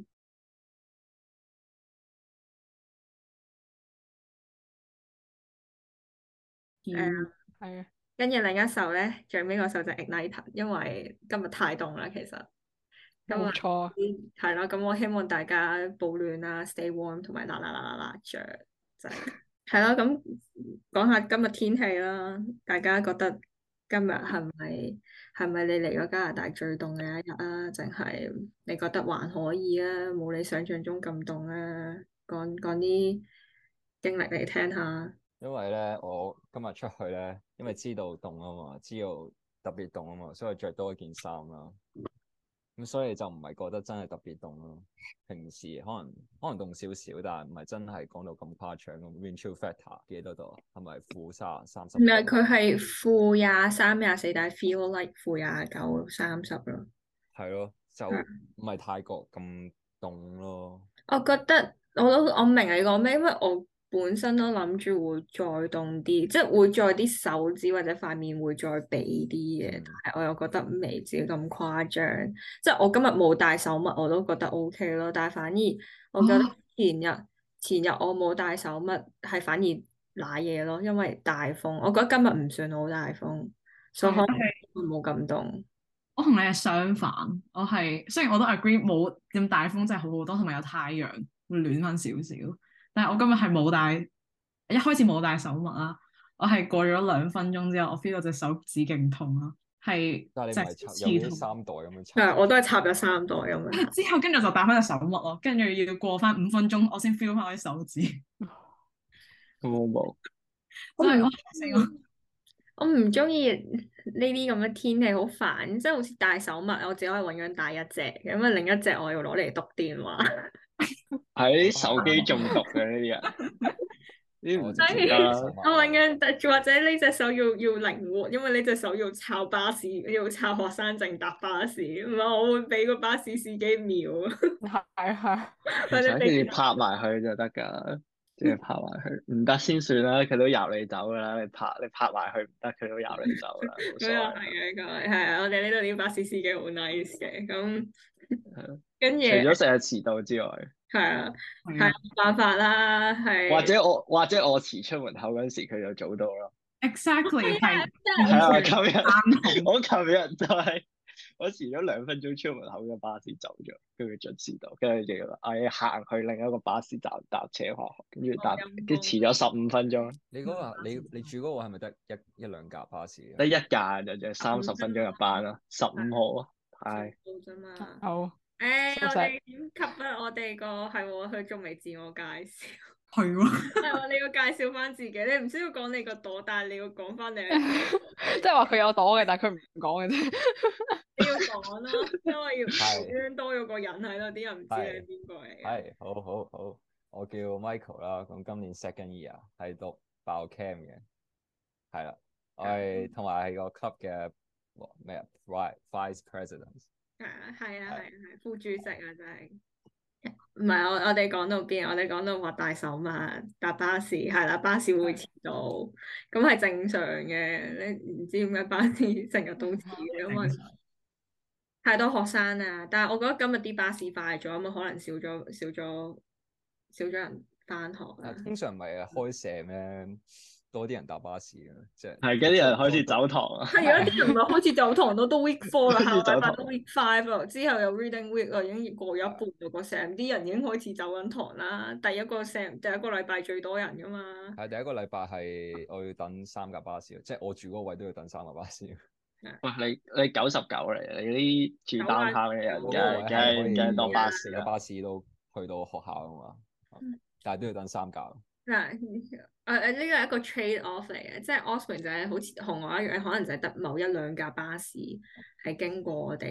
誒， 係啊， 跟住另一首咧，最尾嗰首就係 Ignite，因為今日太凍啦，其實今日冇錯。 係啦，咁我希望大家保暖啦，stay warm，同埋啦啦啦啦啦着，就係係啦。咁講下今日天氣啦，大家覺得今日係咪係咪你嚟咗加拿大最凍嘅一日啊？定係你覺得還可以啊？冇你想象中咁凍啊？講講啲經歷嚟聽下。 因為咧，我今日出去咧，因為知道凍啊嘛，知道特別凍啊嘛，所以着多一件衫啦。咁所以就唔係覺得真係特別凍咯。平時可能可能凍少少，但係唔係真係講到咁誇張咁。Wind chill factor 幾多度啊？係咪負三三十？ 唔係，佢係負廿三、廿四，但係 feel like 負廿九、三十咯。 係咯，就唔係泰國咁凍咯。 我覺得我都我明你講咩，因為我本身都諗住會再凍啲，即係會再啲手指或者塊面會再痹啲嘅， 嗯但係我又覺得未至於咁誇張。即係我今日冇戴手襪，我都覺得 OK 咯。但係反而我覺得前日、前日我冇戴手襪係反而瀨嘢咯，因為大風。我覺得今日唔算好大風，所以可能冇咁凍。 我同你係相反，我係雖然我都 agree 冇咁大風真係好好多，同埋有太陽會暖翻少少。但係我今日係冇戴，一開始冇戴手襪啦。我係過咗兩分鐘之後，我 feel 到隻手指勁痛啦，係但係你唔係插刺有啲痛。 三袋咁樣插？ 係，我都係插咗三袋咁樣。 之後跟住就戴翻隻手襪咯，跟住要過翻五分鐘，我先 feel 翻我啲手指。 冇冇， 真係我死我。 我唔中意呢啲咁嘅天氣，好煩，即係好似戴手襪，我只可以永遠戴一隻，咁啊另一隻我要攞嚟讀電話。 喺手機中毒嘅呢啲人，呢啲唔所以值得啦。 我永遠戴住，或者呢隻手要要靈活，因為呢隻手要抄巴士，要抄學生證搭巴士，唔係我會俾個巴士司機秒。 係係。 或者唔使你拍埋佢就得㗎，即係拍埋佢，唔得先算啦，佢都由你走㗎啦。你拍你拍埋佢唔得，佢都由你走啦，冇所咁又謂。 係嘅，咁係啊！我哋呢度啲巴士司機好 nice 嘅，咁跟住除咗成日遲到之外， 係啊，係係啊冇辦法啦，係或者我或者我遲出門口嗰陣時，佢就早到咯。 ，exactly 係係啊，琴日啱我琴日就係我遲咗兩分鐘出門口嘅巴士走咗，跟住準時到，跟住就要唉行去另一個巴士站搭車翻學，跟住搭跟住遲咗十五分鐘， 你嗰個你你住嗰個係咪得一一兩架巴士得嘅？ 一架就就三十分鐘入班咯，十五號啊，係到啫嘛。 好。 誒，我收晒哋點及啊？我哋個係喎，佢仲未自我介紹。 係喎。 係喎，你要介紹翻自己，你唔需要講你個朵，但係你要講翻你係即係話佢有朵嘅，但係佢唔講嘅啫。 你要講咯，因為要係無端多咗個人喺度，啲人唔知你係邊個嚟嘅。 係，好好好，我叫 Michael 啦，咁今年 second year 係讀 Biochem 嘅，係啦，我係同埋係個 club 嘅咩啊 vice president。 係啊，係啊，係啊，係副主席啊，真係。唔係我我哋講到邊？我哋講到話戴手襪搭巴士，係啦，巴士會遲到，咁係正常嘅。你唔知點解巴士成日都遲嘅，因為太多學生啊。但係我覺得今日啲巴士快咗，咁啊可能少咗少咗少咗人翻學啊。 通常咪開社咩？多啲人搭巴士嘅，即係係跟啲人開始走堂啊。 係而家啲人唔係開始走堂咯，都 week four 啦，下個開始走堂禮拜都 week five 啦，之後又 reading week 啦，已經過咗一半啦個 sem，啲人已經開始走緊堂啦。第一個 sem 第一個禮拜最多人噶嘛。 係第一個禮拜係我要等三架巴士，即係我住嗰個位都要等三架巴士。 喂，你你九十九嚟，你啲住 downtown 嘅人，梗係梗係梗係多巴士有啦。 巴士都去到學校啊嘛，但係都要等三架。 嗱，誒誒呢個係一個 trade off 嚟嘅，即係 Osborne 就係好似同我一樣，可能就係得某一兩架巴士係經過我哋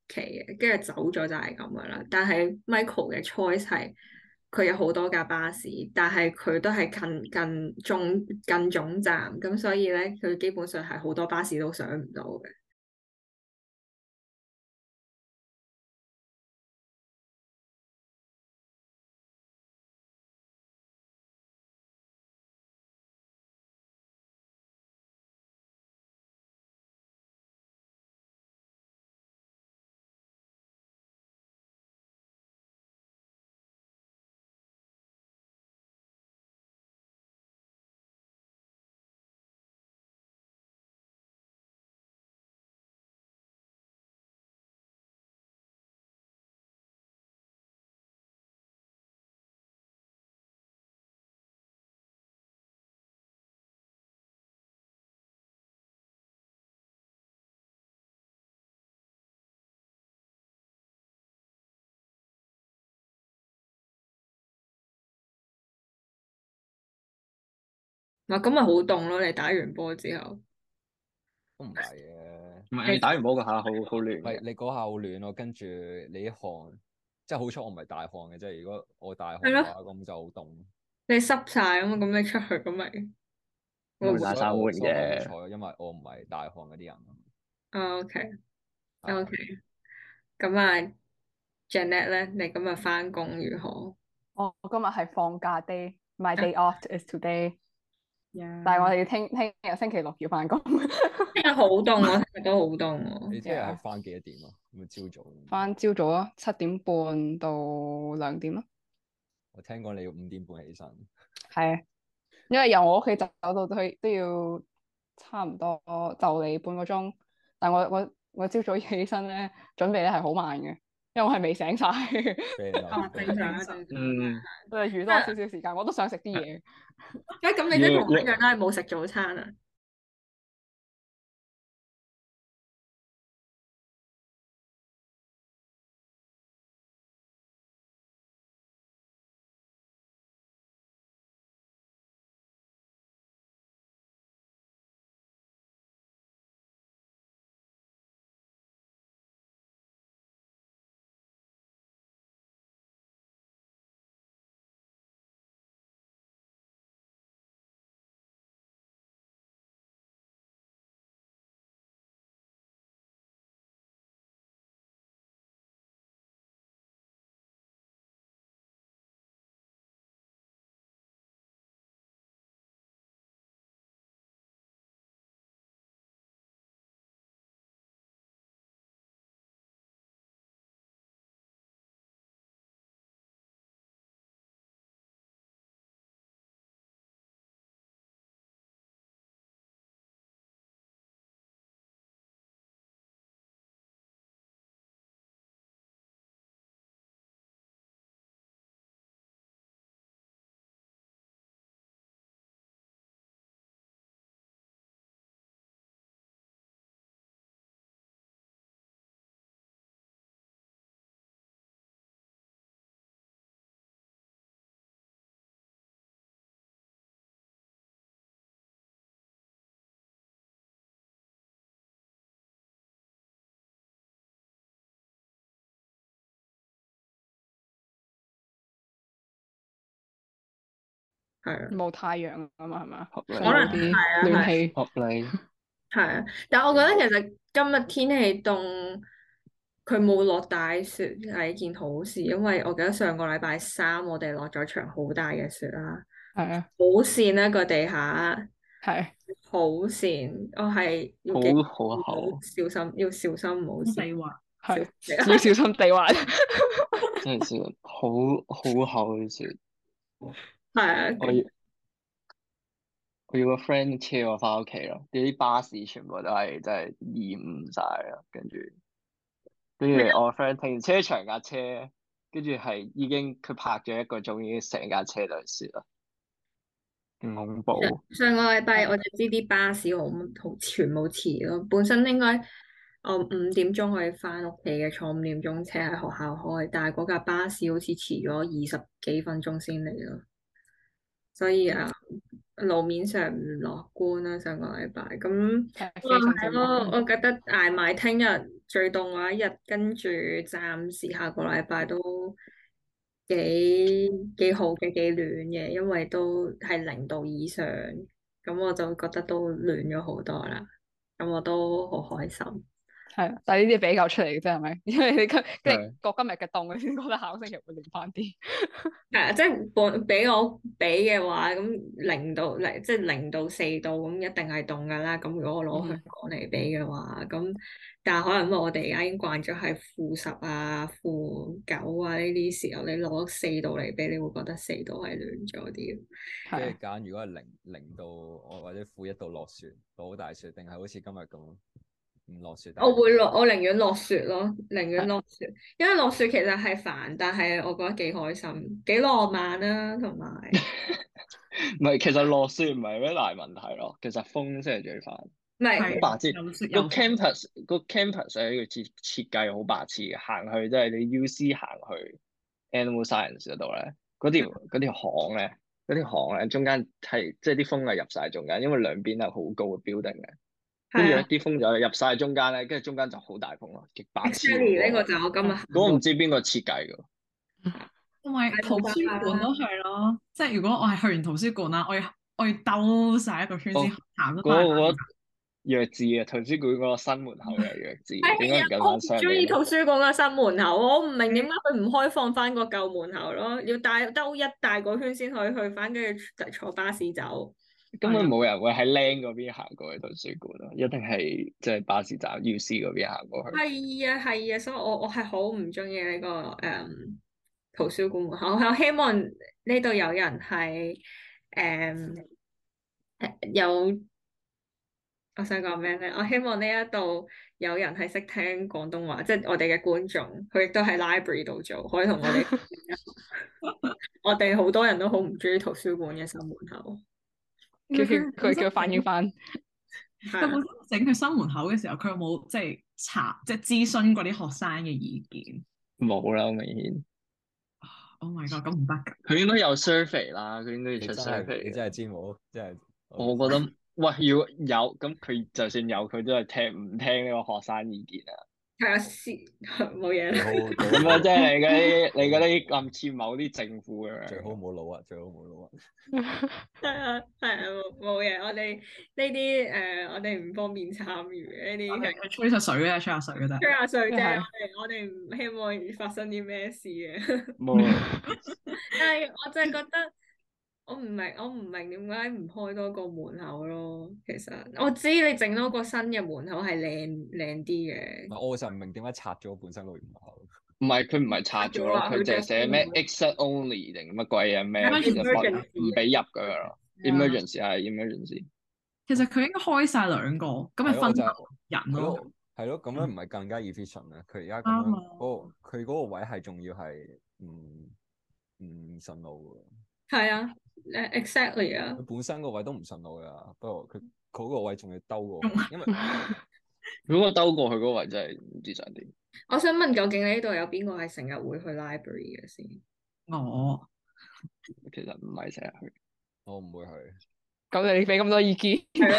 期嘅，跟住走咗就係咁噶啦。但係 Michael 嘅 choice 係佢有好多架巴士，但係佢都係近近中近總站，咁所以咧佢基本上係好多巴士都上唔到嘅。嗱，咁咪好凍咯！你打完波之後， 都唔係嘅。 唔係你打完波嗰下好好暖嘅。 唔係你嗰下好暖咯，跟住你啲汗，即係好彩我唔係大汗嘅啫。如果我大汗係咯， 嘅話，咁就好凍。 你濕晒啊嘛，咁你出去咁咪會唔會會打所以我三換所以我好嘅。 彩，因為我唔係大汗嗰啲人。 哦？OK 係 OK，咁啊，Janet 咧，你今日翻工如何？ 我我今日係放假 day，my day off is today，但係我 Yeah， 哋要聽聽日星期六要翻工。 聽日好凍喎，聽日都好凍喎。 你聽日係 Yeah 翻幾多點啊？咁朝早。 翻朝早咯，七點半到兩點咯。 我聽講你要五點半起身。 係啊，因為由我屋企走到去都要差唔多就嚟半個鐘，但我我我朝早起身咧，準備咧係好慢嘅，因為我係未醒晒， 俾人哦， 留正常啊，正常。 嗯， 我係預多少少時間，我都想食啲嘢。 誒，咁你要都同我一要樣都係冇食早餐啊？係啊， 冇太陽啊嘛，係嘛？ 合可能需要啲係啊，係暖氣。 合理。 係啊。但係我覺得其實今日天氣凍，佢冇落大雪係一件好事，因為我記得上個禮拜三我哋落咗場好大嘅雪啦， 係啊， 好跣啦個地下， 係好跣，我係要好記好要厚， 小心，要小心唔好跣。 地滑。 係， 小要小心地滑。 真係笑，好好厚嘅雪。 係啊， 我要我要個 friend 車我翻屋企咯，啲巴士全部都係真係延誤晒啦，跟住跟住我個 friend 停車場架車，跟住係已經佢泊咗一個鐘，已經成架車都係雪啦，勁恐怖。 上個禮拜我就知啲巴士好好全部遲咯，本身應該我五點鐘可以翻屋企嘅，坐五點鐘車喺學校開，但係嗰架巴士好似遲咗二十幾分鐘先嚟咯，所以啊路面上唔樂觀啦。上個禮拜咁， 係哇非常之唔樂係咯， 觀。 我覺得捱埋聽日最凍嗰一日，跟住暫時下個禮拜都幾幾好嘅，幾暖嘅，因為都係零度以上，咁我就覺得都暖咗好多啦，咁我都好開心。 係啊，但係呢啲比較出嚟嘅啫，係咪？因為你今即係係過今日嘅凍，你先覺得下個星期會暖翻啲。 係啊，即係本俾我比嘅話，咁零度零即係零到四度，咁一定係凍噶啦。咁如果我攞香港嚟比嘅話，咁、但係可能因為我哋而家已經慣咗係負十啊、負九啊呢啲時候，你攞四度嚟比，你會覺得四度係暖咗啲。 即係啊， 係揀如果係零零度我或者負一度落雪，落好大雪，定係好似今日咁唔落雪？ 我會落，我寧願落雪咯，寧願落雪，因為落雪其實係煩，但係我覺得幾開心，幾浪漫啦、同埋唔係，其實落雪唔係咩大問題咯，其實風先係最煩。 唔係係白痴個有雪有風 campus 個 campus 係個設設計好白痴嘅，行去即係你 U C 行去 Animal Science 嗰度咧，嗰條嗰條巷咧，嗰條巷咧中間係即係啲風係入晒中間，因為兩邊係好高嘅 building 嘅，跟住咧係啊啲風就入晒中間咧，跟住中間就好大風咯，極白痴 ，exactly 呢嗰個。 個就係我今日行嗰個唔過知邊個設計㗎。 同埋圖書館都係咯，即係如果我係去完圖書館啦，我要我要兜晒一個圈先哦行得嗰個嗰翻嚟。 個弱智啊！圖書館嗰個新門口嘅弱智，點解唔係啊，我唔跟翻上中意圖嚟？ 書館嘅新門口，我唔明點解佢唔開放翻個舊門口咯，要帶兜一大個圈先可以去翻，跟住坐巴士走。 根本冇人會喺 Land 嗰邊行過去圖書館咯，一定係即係巴士站 U C 嗰邊行過去。 係啊係啊，所以我我係好唔中意呢個誒、嗯、圖書館門口。我希望呢度有人係誒、誒有，我想講咩咧？我希望呢一度有人係識聽廣東話，即係我哋嘅觀眾，佢亦都喺 library 度做，可以同我哋。我哋好多人都好唔中意圖書館嘅新門口。 叫佢佢叫佢反映翻。 係啊佢本身整佢新門口嘅時候，佢有冇即係查即係諮詢過啲學生嘅意見冇啦，好明顯。 ？Oh my god，咁唔得㗎。 佢應該有 survey 啦，佢應該要出你真係 survey 嘅。 你真係知冇？真係我覺得，喂，如果有咁，佢就算有，佢都係聽唔聽呢個學生意見啊？ 係啊，先冇嘢啦。 最好最咁好啊，即係你嗰啲，你嗰啲咁似某啲政府咁樣。 最好冇腦啊！最好冇腦啊！ 係啊，係啊，冇冇嘢。我哋呢啲誒，我哋唔方便參與嘅呢啲係佢吹下水嘅，吹下水嘅啫。 吹下水啫。 係我哋我哋唔希望發生啲咩事嘅。 冇啊， 但係我真係覺得，我唔明，我唔明點解唔開多個門口咯。其實我知你整多個新嘅門口係靚靚啲嘅。 我就唔明點解拆咗本身個門口。 唔係佢唔係拆咗咯，佢淨係寫咩 exit only 定乜鬼嘢咩， 係其實不 emergency 唔俾入噶咯。emergency 係 emergency。 其實佢應該開晒兩個，咁咪分係咯我就人咯。 係咯，係咯，咁樣唔係更加 efficient 咧？佢而家咁樣啱啊嗰個佢嗰個位係仲要係唔唔順路係啊，誒 exactly 啊喎，佢。本身個位都唔順路噶，不過佢佢嗰個位仲要兜過去，因為如果我兜過去嗰個位真係唔知想點。 我想問，究竟呢度有邊個係成日會去 library 嘅先？ 我其實唔係成日去， 我唔會去。 咁你俾咁多意見，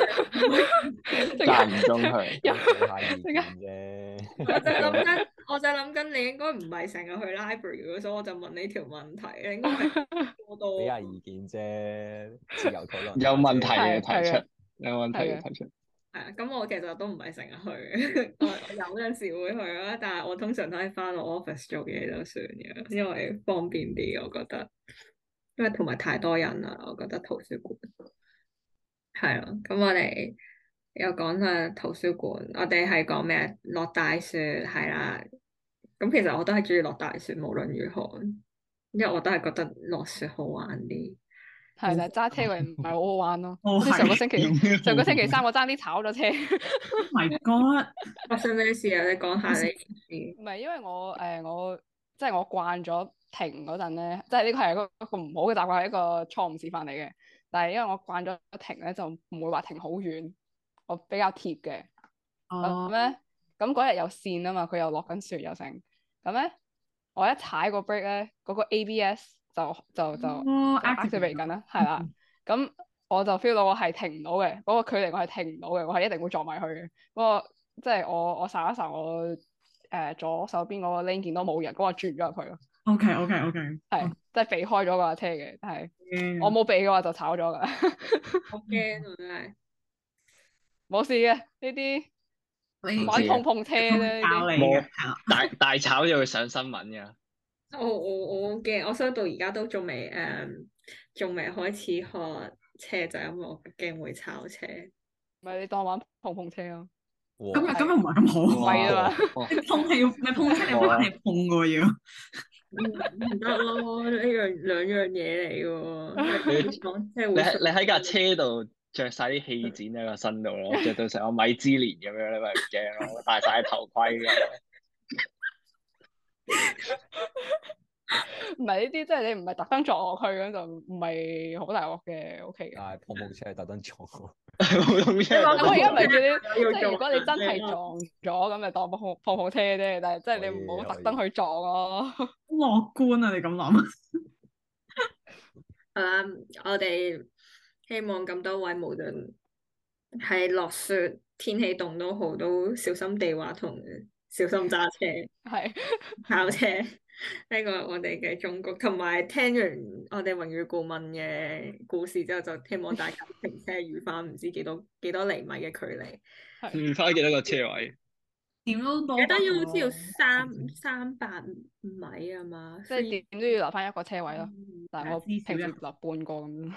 間唔中去。 有俾下意見啫。 我就諗緊，我就諗緊，你應該唔係成日去 library 嘅，所以我就問你條問題。你應該係多多。 俾下意見啫，自由討論。 有問題嘅係係嘅提出，有問題嘅提出。 係啊，咁我其實都唔係成日去，我我有陣時會去啦，但係我通常都係翻我 office 做嘢就算嘅，因為方便啲，我覺得。因為同埋太多人啦，我覺得圖書館係咯。咁我哋又講下圖書館，我哋係講咩？落大雪係啦。咁其實我都係中意落大雪，無論如何，因為我都係覺得落雪好玩啲。 係，但係揸車位唔係好好玩咯。 哦好似上個星有咩期好上個星期三我爭啲炒咗車。 ，Oh my god， 發生咩事啊？你講下你件事。 唔係因為我誒、呃、我即係我慣咗停嗰陣咧，即係呢個係一個一個唔好嘅習慣，係一個錯誤示範嚟嘅。但係因為我慣咗停咧，就唔會話停好遠，我比較貼嘅。咁哦， 咧，咁嗰日有線啊嘛，佢又落緊雪又成。咁咧，我一踩個 brake 咧，嗰、個 A B S 就就就哦就 activate 緊啦，係啦。咁我就 feel 到我係停唔到嘅，嗰、個距離我係停唔到嘅，我係一定會撞埋去嘅。不過即係我我掃一掃我誒、呃、左手邊嗰個 lane 見到冇人，咁我轉咗入去咯。 OK OK OK， 係即係避開咗嗰架車嘅，但係嗯我冇避嘅話就炒咗㗎。 好驚啊！真係。 冇事嘅，呢啲你玩碰碰車啫，呢教啲冇你嘅係啦。 大大炒就會上新聞㗎。 我我我好驚，我所以到而家都仲未誒，仲未開始學車，就因為我驚會炒車。 咪你當玩碰碰車咯。 咁又咁又唔係咁好。 貴啊嘛， 哇你碰係要你碰車，你唔係碰嘅喎要。 唔唔得咯，呢樣兩樣嘢嚟嘅喎。講即係會你喺你喺架車度着晒啲氣墊喺個身度咯，着到成個米芝蓮咁樣，你咪唔驚咯，戴晒頭盔㗎。 唔係呢啲，即係你唔係特登撞落去咁就唔係好大鑊嘅，O K 嘅。 但係碰碰車係特登撞我。 普通車咁我而家唔係叫你， 要即係如果你真撞係撞咗咁，就當碰碰碰車啫。但係即係你唔好特登去撞咯。 樂觀啊！你咁諗。 係啦，我哋希望咁多位無論係落雪、天氣凍都好，都小心地滑同小心揸車、 係考車。呢個係我哋嘅忠告，同埋聽完我哋榮譽顧問嘅故事之後，就希望大家停車預翻唔知幾多幾多厘米嘅距離。 唔花幾多個車位？ 點都多記得要好好似要三三百米啊嘛， 即係點都要留翻一個車位咯。但係我至少一平時留半個咁。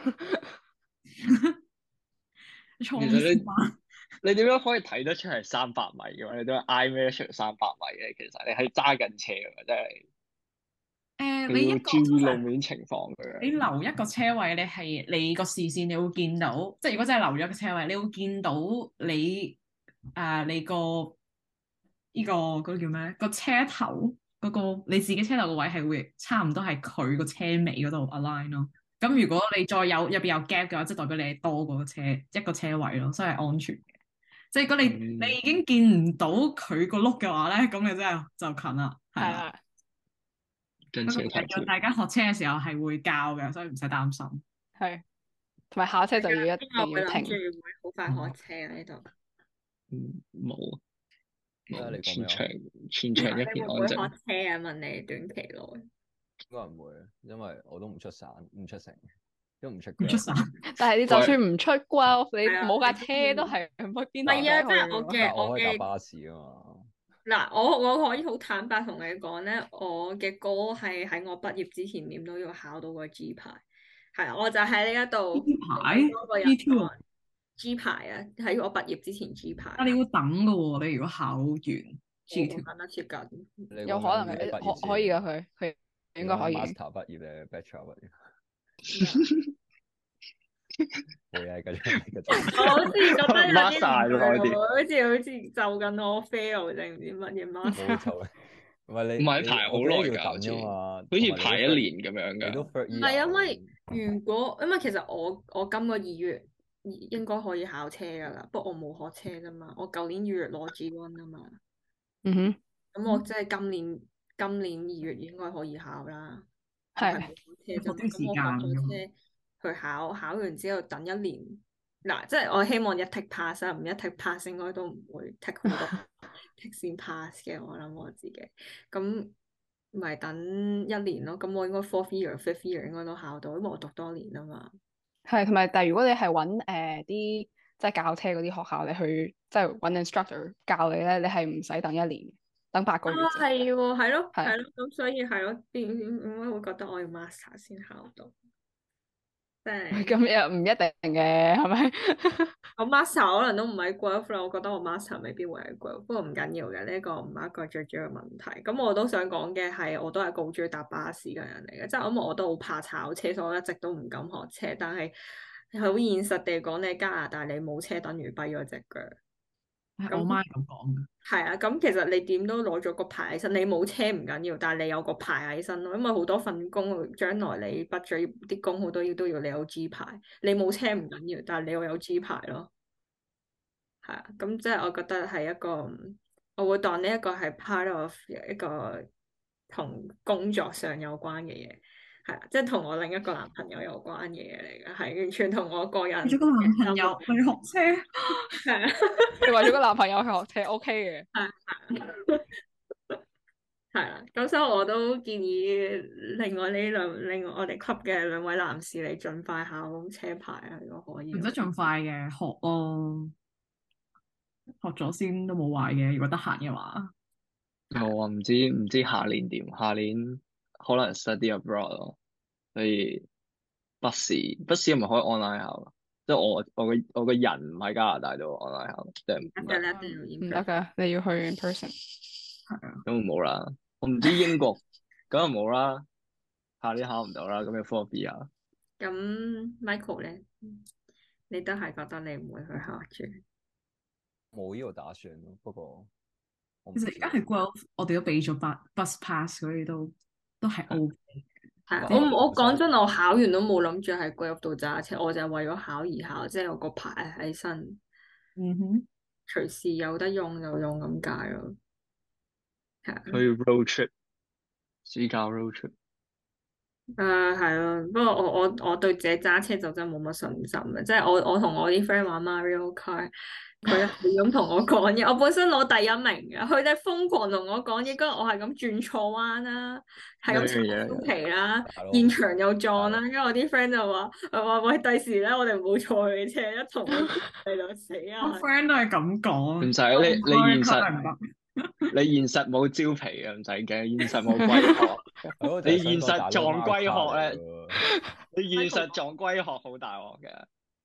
衝其實你線你點樣可以睇得出係三百米嘅話？你都係 I measure 三百米嘅，其實你係揸緊車㗎，真係。 誒，你你要一個注意路面情況㗎。 你留一個車位，你係你個視線，你會見到，即係如果真係留咗個車位，你會見到你啊、你個呢、個嗰、個叫咩？個車頭嗰、個你自己車頭個位係會差唔多係佢個車尾嗰度 align 咯。咁如果你再有入邊有 gap 嘅話，即係代表你係多過個車一個車位咯，所以係安全嘅。即係如果你、 嗯你已經見唔到佢個轆嘅話咧，咁你真係就近啦，係啦。 係啊， 不過跟車太叫大家學車嘅時候係會教嘅，所以唔使擔心。 係。同埋下車就要一因為我定要諗住停。 會好快學車啊呢度。 嗯冇冇咩啊你講咩啊全場全場一你會唔會學片安靜。 車啊？問你短期內。 應該唔會，因為我都唔出省，唔出城，都唔出唔出 Grab 省。 但係你就算唔出 Golf，你係啊冇架車都係去邊度唔係啊， 都即係我去嘅但我可以搭我嘅巴士啊嘛。 嗱，我我可以好坦白同你講咧，我嘅 goal 係喺我畢業之前點都要考到個 G 牌。係啊，我就喺呢一度 G 牌多個人 G two 啊 G 牌啊，喺我畢業之前 G 牌。 啊！你要等噶喎，你如果考完 G 我 two， 等得接近。 你有可能嘅嘅，可可以噶佢，佢應該可以。 Master 畢業咧，Bachelor 畢業。冇嘢，繼續繼續。 我好似覺得有啲 Master 唔咯啲對喎，好似好似就緊我 fail 定唔知乜嘢 master。 冇錯，唔係你唔係你排好我記得耐㗎要等㗎嘛， 好似排一同埋年咁樣你都㗎。 first 唔 year 係因為咁如果因為其實我我今個二月應該可以考車㗎啦，不過我冇學車啫嘛，我舊年二月攞 G one 啊嘛， 嗯哼， 咁我即係今年今年二月應該可以考啦。 係係冇學車啫嘛， 學啲時間咁我學咗車去考，考完之後等一年。嗱，即係我希望一 take pass 啊，唔一 take pass 應該都唔會 take 好多 take 先 pass 嘅，我諗我自己。咁咪等一年咯，咁我應該 fourth year、fifth year 應該都考到，因為我讀多年啊嘛。 係同埋，但係如果你係揾誒啲即係教車嗰啲學校，你去即係揾 instructor 教你咧，你係唔使等一年，等八個月啊， 啫。 係喎，係咯， 係係咯，咁所以係咯，點點點解會覺得我要 master 先考到？即係咁又唔一定嘅，係咪？ 我 master 可能都唔喺 Guelph 啦，我覺得我 master 未必會喺 Guelph，不過唔緊要嘅，呢個唔係一個最主要嘅問題。咁我都想講嘅係，我都係個好中意搭巴士嘅人嚟嘅，即係因為我都好怕炒車，所以我一直都唔敢學車。但係好現實地講，你喺加拿大你冇車等於跛咗隻腳。 係我媽係咁講嘅。 係啊，咁其實你點都攞咗個牌喺身，你冇車唔緊要，但係你有個牌喺身咯，因為好多份工，將來你畢咗業啲工好多要都要你有 G 牌，你冇車唔緊要，但係你要有 G 牌咯。係啊，咁即係我覺得係一個，我會當呢一個係 part of 一個同工作上有關嘅嘢。 係啊，即係同我另一個男朋友有關嘅嘢嚟嘅，係完全同我個人為咗個男朋友去學車， 係啊， 你為咗個男朋友去學車 OK 嘅。 係啦，咁所以我都建議另外呢兩另外我哋 club 嘅兩位男士，你盡快考車牌啊，如果可以。 唔使咁快嘅，學咯，學咗先都冇壞嘅。如果得閒嘅話， 我唔知唔知下年點，下年可能 study abroad 咯，所以筆試筆試係咪可以 online 考？即係我我個我個人唔喺加拿大度 online 考，即係唔得， 得一定要唔得㗎，你要去 in person。 係啊， 咁就冇啦。我唔知英國咁就冇啦，下年考唔到啦，咁要 four B 啊。 咁 Michael 咧，你都係覺得你唔會去考住？ 冇呢個打算咯，不過我唔知其實而家係 Guelph，我哋都俾咗 bus bus pass，所以都都係 O K。 係即係我我講唔使真，我考完都冇諗住喺 Guelph 度揸車，我就係為咗考而考，即係有個牌喺身， 嗯哼， 隨時有得用就用咁解咯。係啊。 去 road trip，暑假 road trip。 誒係咯，不過我我我對自己揸車就真係冇乜信心嘅，即係我我同我啲 friend 玩 Mario Kart，佢係咁同我講嘢，我本身攞第一名嘅，佢哋瘋狂同我講嘢，跟住我係咁轉錯彎啦，係咁踩燒皮啦， 大佬現場又撞啦， 大跟住我啲 friend 就話誒話喂，第時咧我哋唔好坐佢嘅車，一同佢哋就死我啊！ friend 都係咁講。 唔使你你現實實唔得。 你現實冇招皮啊，唔使驚，現實冇龜殼。 係咯你現實就係想講大佬撞龜殼 Mario 咧嚟喎你現實撞龜殼好大鑊嘅。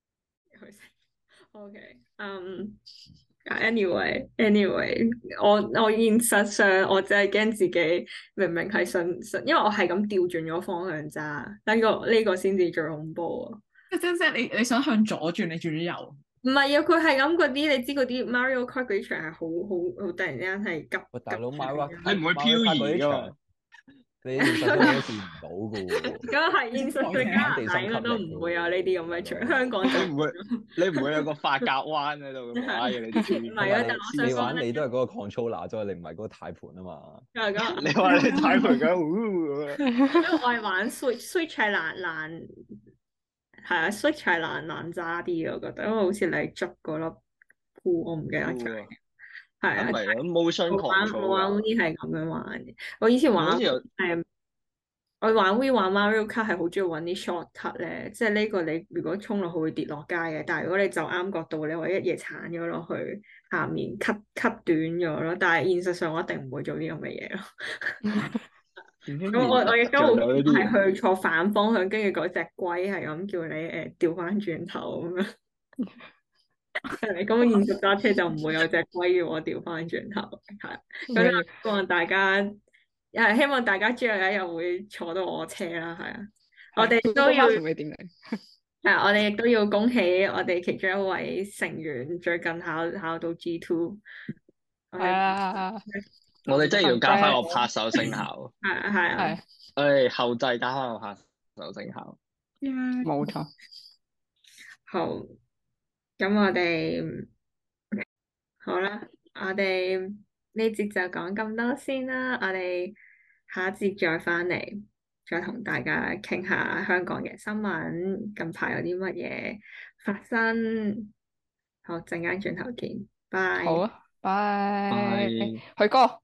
OK，嗯、um,，anyway，anyway， 我我現實上我只係驚自己明明係順順，因為我係咁調轉咗方向揸，呢個呢個先至最恐怖啊！ 即即即你你想向左轉，你轉咗右。 唔係啊，佢係咁嗰啲，你知嗰啲 Mario Kart 嗰啲場係好好好突然之間係急喂，大佬急 Mario 你唔會漂移㗎嘛？ 你現實中都試唔到嘅喎。 咁係現實上加拿大應該都唔會有呢啲咁嘅場，香港就你唔會你唔會有個髮夾彎喺度咁啊！你啲唔係啊，但係我想你講咧玩你都係嗰個 controller 啫，你唔係嗰個軚盤啊嘛。 咁咁你話你睇佢咁，呜因為我係玩 Switch，Switch 係難難，係啊，Switch 係難難揸啲嘅，我覺得，因為好似你捉嗰粒箍，我唔記得咗，係啊， 唔係啊，motion 我玩 control 我玩 Wii 係咁樣玩嘅，我以前玩好似有誒，我玩 Wii 玩 Mario Kart 係好中意揾啲 shortcut 咧，即係呢個你如果衝落去會跌落街嘅，但係如果你就啱角度，你可以一嘢鏟咗落去下面 cut cut 短咗咯，但係現實上我一定唔會做啲咁嘅嘢咯。咁我我亦都好有呢啲嘢係去坐反方向，跟住嗰隻龜係咁叫你誒調翻轉頭咁樣。係咁現實揸車就唔會有隻龜叫我調翻轉頭，係咁就希望大家誒希望大家之後有一日會坐到我車啦，係啊，我哋都要同你點嚟？ 係我哋亦都要恭喜我哋其中一位成員最近考考到 G two， 係啊， 我哋真係要加翻個拍手聲效， 係啊係啊， 係我哋後製加翻個拍手聲效。 冇錯。 好，咁我哋好啦，我哋呢節就講咁多先啦，我哋下一節再翻嚟，再同大家傾下香港嘅新聞，近排有啲乜嘢發生。好，陣間轉頭見，拜。 好啊，拜拜。 許哥。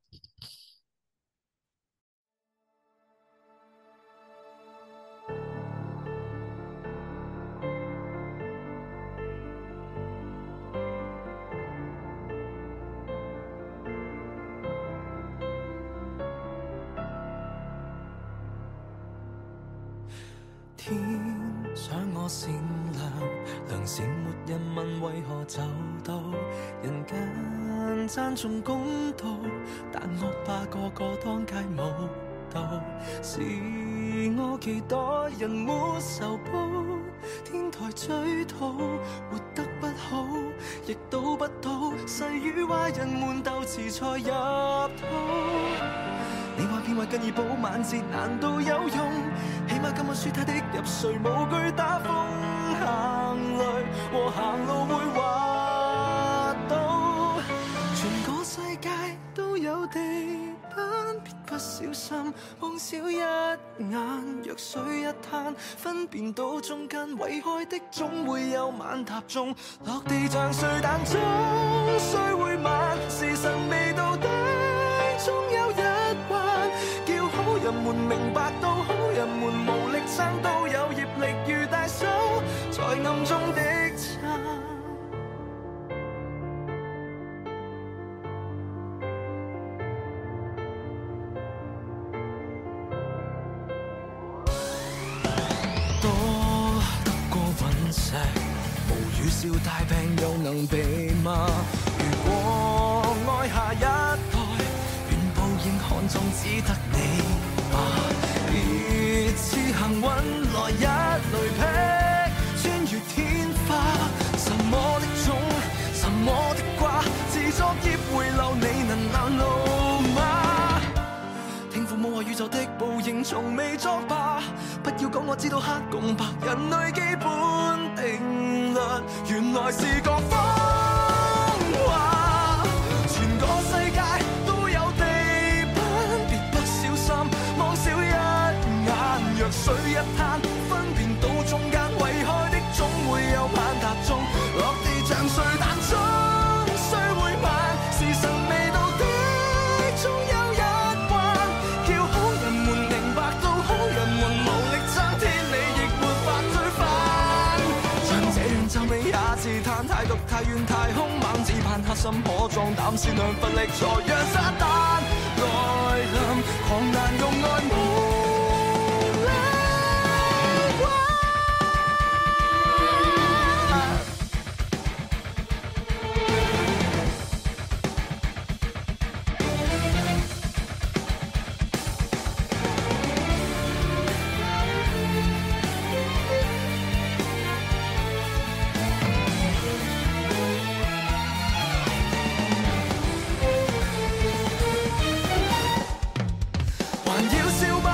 天想我善良，良善沒人問為何走到人間讚頌公道，但惡霸個個當街舞蹈，是我期待人沒仇報，天台追討，活得不好，亦賭不到，誓與壞人們鬥詞才入肚。你話變壞更易補晚節難道有用？起碼今晚輸他的入睡，無懼打風行雷和行路會滑倒。全個世界都有地板，別不小小心望少一眼，若水一灘，分辨到中間遺開的總會有晚踏中，落地像碎彈中，雖會慢，時辰未到底，終有一環，叫好人們明白到好人們無力撐到有業力如大手，在暗中的撐。無語笑大病又能避嗎？如果愛下一代，願報應看中只得你吧。別似幸運來一雷劈，穿越天花。什麼的種，什麼的瓜，自作業回流，你能攔路嗎？聽父母話宇宙的報應從未作罷，不要講我知道黑共白，人類基本定律原來是個謊話，全個世界都有地板，別不小心望少一眼，若水一灘，分辨到中間遺開的總會有晚踏中，落地像碎彈中，雖會慢，時辰未到的終有一環，叫好人們明白到好人們無力爭，天理亦沒法推翻，像這樣皺眉也自嘆，太毒太遠太兇猛，只盼黑心可壯膽，善良乏力才讓撒旦來臨，狂難用愛無力挽。還要笑吧，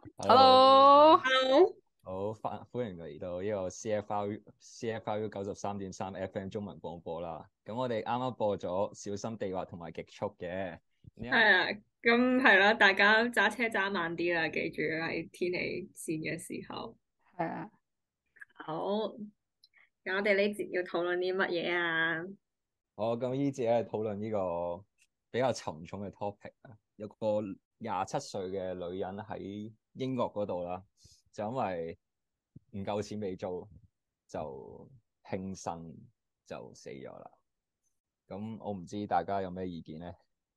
Hello， Hello， Hello， 好，歡歡迎嚟到呢個 C F R U C F R U 九十三點三 F M 中文廣播啦。咁我哋啱啱播咗小心地滑同埋極速嘅， 係啊，咁係啦，大家揸車揸慢啲啦，記住喺天氣線嘅時候。 係啊， 好，咁我哋呢節要討論啲乜嘢啊？ 好，咁呢節咧討論呢個比較沉重嘅 topic 啊，有個廿七歲嘅女人喺英國嗰度啦，就因為唔夠錢俾租，就輕生就死咗啦。咁我唔知大家有咩意見咧？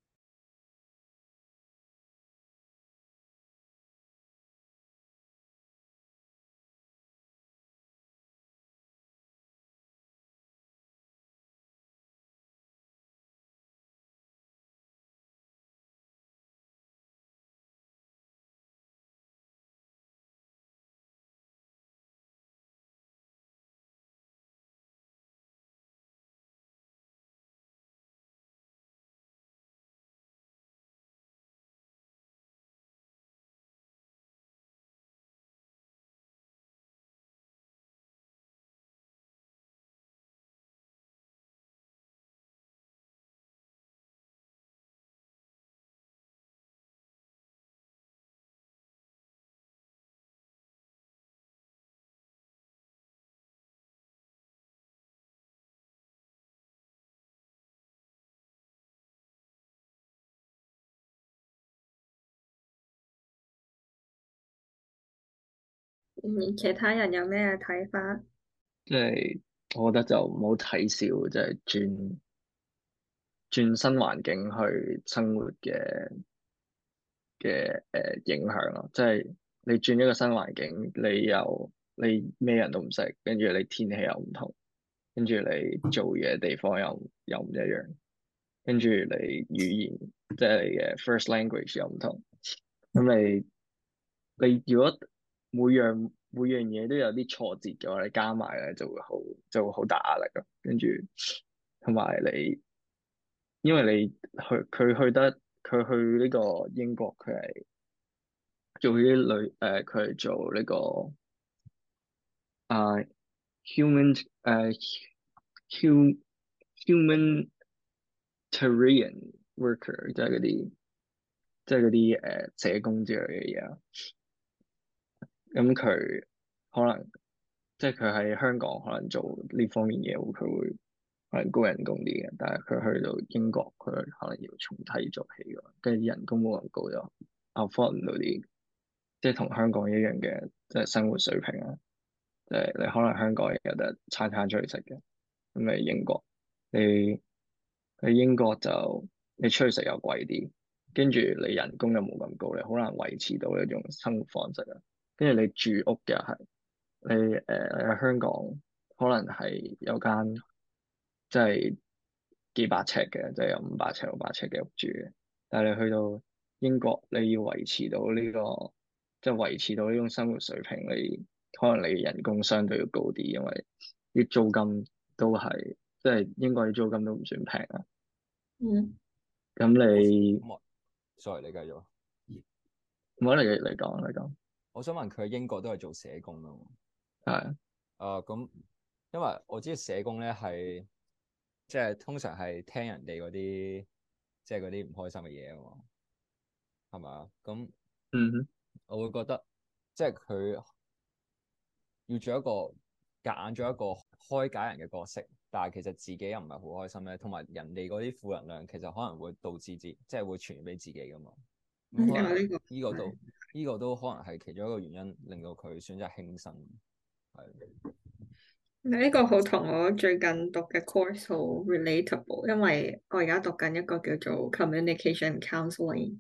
嗯，其他人有咩睇法？ 即係我覺得就唔好睇小，即係轉轉新環境去生活嘅嘅誒影響咯。即係你轉一個新環境，你又你咩人都唔識，跟住你天氣又唔同，跟住你做嘢地方又又唔一樣，跟住你語言即係你嘅 first language 又唔同，咁你你如果每樣每樣嘢都有啲挫折嘅話，你加埋咧就會好就會好大壓力咯。跟住同埋你，因為你去佢去得佢去呢個英國，佢係做啲女誒，佢係做呢個啊 human 誒 hu humanitarian worker，即係嗰啲即係嗰啲誒社工之類嘅嘢啊。咁佢可能即係佢喺香港可能做呢方面嘢，佢會可能高人工啲嘅，但係佢去到英國，佢可能要從低做起㗎，跟住人工冇咁高就 afford 唔到啲，即係同香港一樣嘅即係生活水平啊。即係你可能香港有得餐餐出去食嘅，咁你英國你喺英國就你出去食又貴啲，跟住你人工又冇咁高，你好難維持到呢種生活方式啊。跟住你住屋又係。你誒喺香港可能係有間即係幾百尺嘅，即係有五百尺、六百尺嘅屋住嘅。但係你去到英國，你要維持到呢個即係維持到呢種生活水平，你可能你人工相對要高啲，因為啲租金都係即係英國啲租金都唔算平啊。 嗯， 咁你咁我 sorry，你繼續。 唔好嚟嚟講嚟講， 我想問佢喺英國都係做社工啊嘛？ 係啊咁，因為我知社工咧係即係通常係聽人哋嗰啲即係嗰啲唔開心嘅嘢啊嘛，係咪啊？咁嗯哼， 我會覺得即係佢要做一個夾硬做一個開解人嘅角色，但係其實自己又唔係好開心咧，同埋人哋嗰啲負能量其實可能會導致自即係會傳染俾自己噶嘛。咁可能啊呢個呢個都呢個都可能係其中一個原因，令到佢選擇輕生。係。 呢個好同我最近讀嘅 course 好 relatable，因為我而家讀緊一個叫做 communication counseling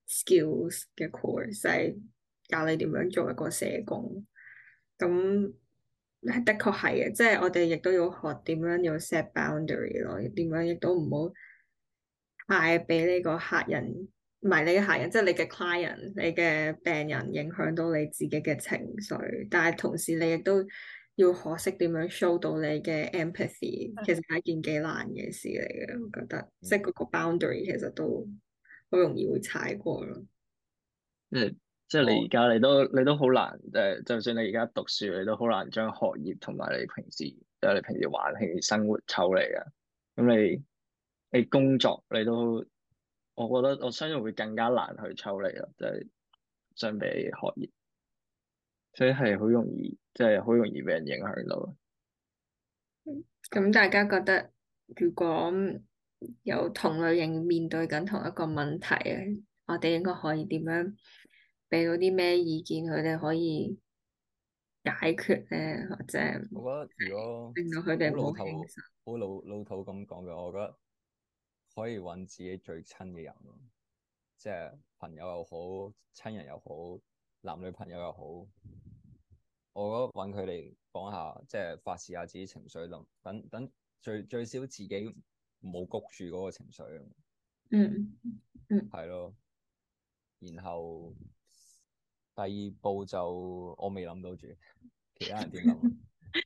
skills 嘅 course，係教你點樣做一個社工。咁的確係嘅，即係我哋亦都要學點樣要 set boundary 咯，點樣亦都唔好太俾呢個客人，唔係你嘅客人，即係你嘅 client、你嘅病人影響到你自己嘅情緒，但係同時你亦都要學識點樣 show 到你嘅 empathy，其實係一件幾難嘅事嚟嘅，我覺得，即係嗰個 boundary 其實都好容易會踩過咯。 即係即係你我而家你都你都好難誒，就算你而家讀書，你都好難將學業同埋你平時即係你平時玩興生活抽離啊。咁你你工作你都，我覺得我相信會更加難去抽離咯，即係相比學業，所以係好容易，即係好容易俾人影響到。 咁大家覺得，如果有同類型面對緊同一個問題嘅，我哋應該可以點樣俾到啲咩意見，佢哋可以解決咧，或者我覺得如果令到佢哋好唔好輕老土、 生。 好老老土咁講嘅，我覺得可以揾自己最親嘅人咯，即係朋友又好、親人又好、男女朋友又好，我覺得揾佢哋講下，即係發泄下自己情緒咯，等等最最少自己唔好谷住嗰個情緒， 嗯嗯係咯。然後第二步就我未諗到住，其他人點諗啊？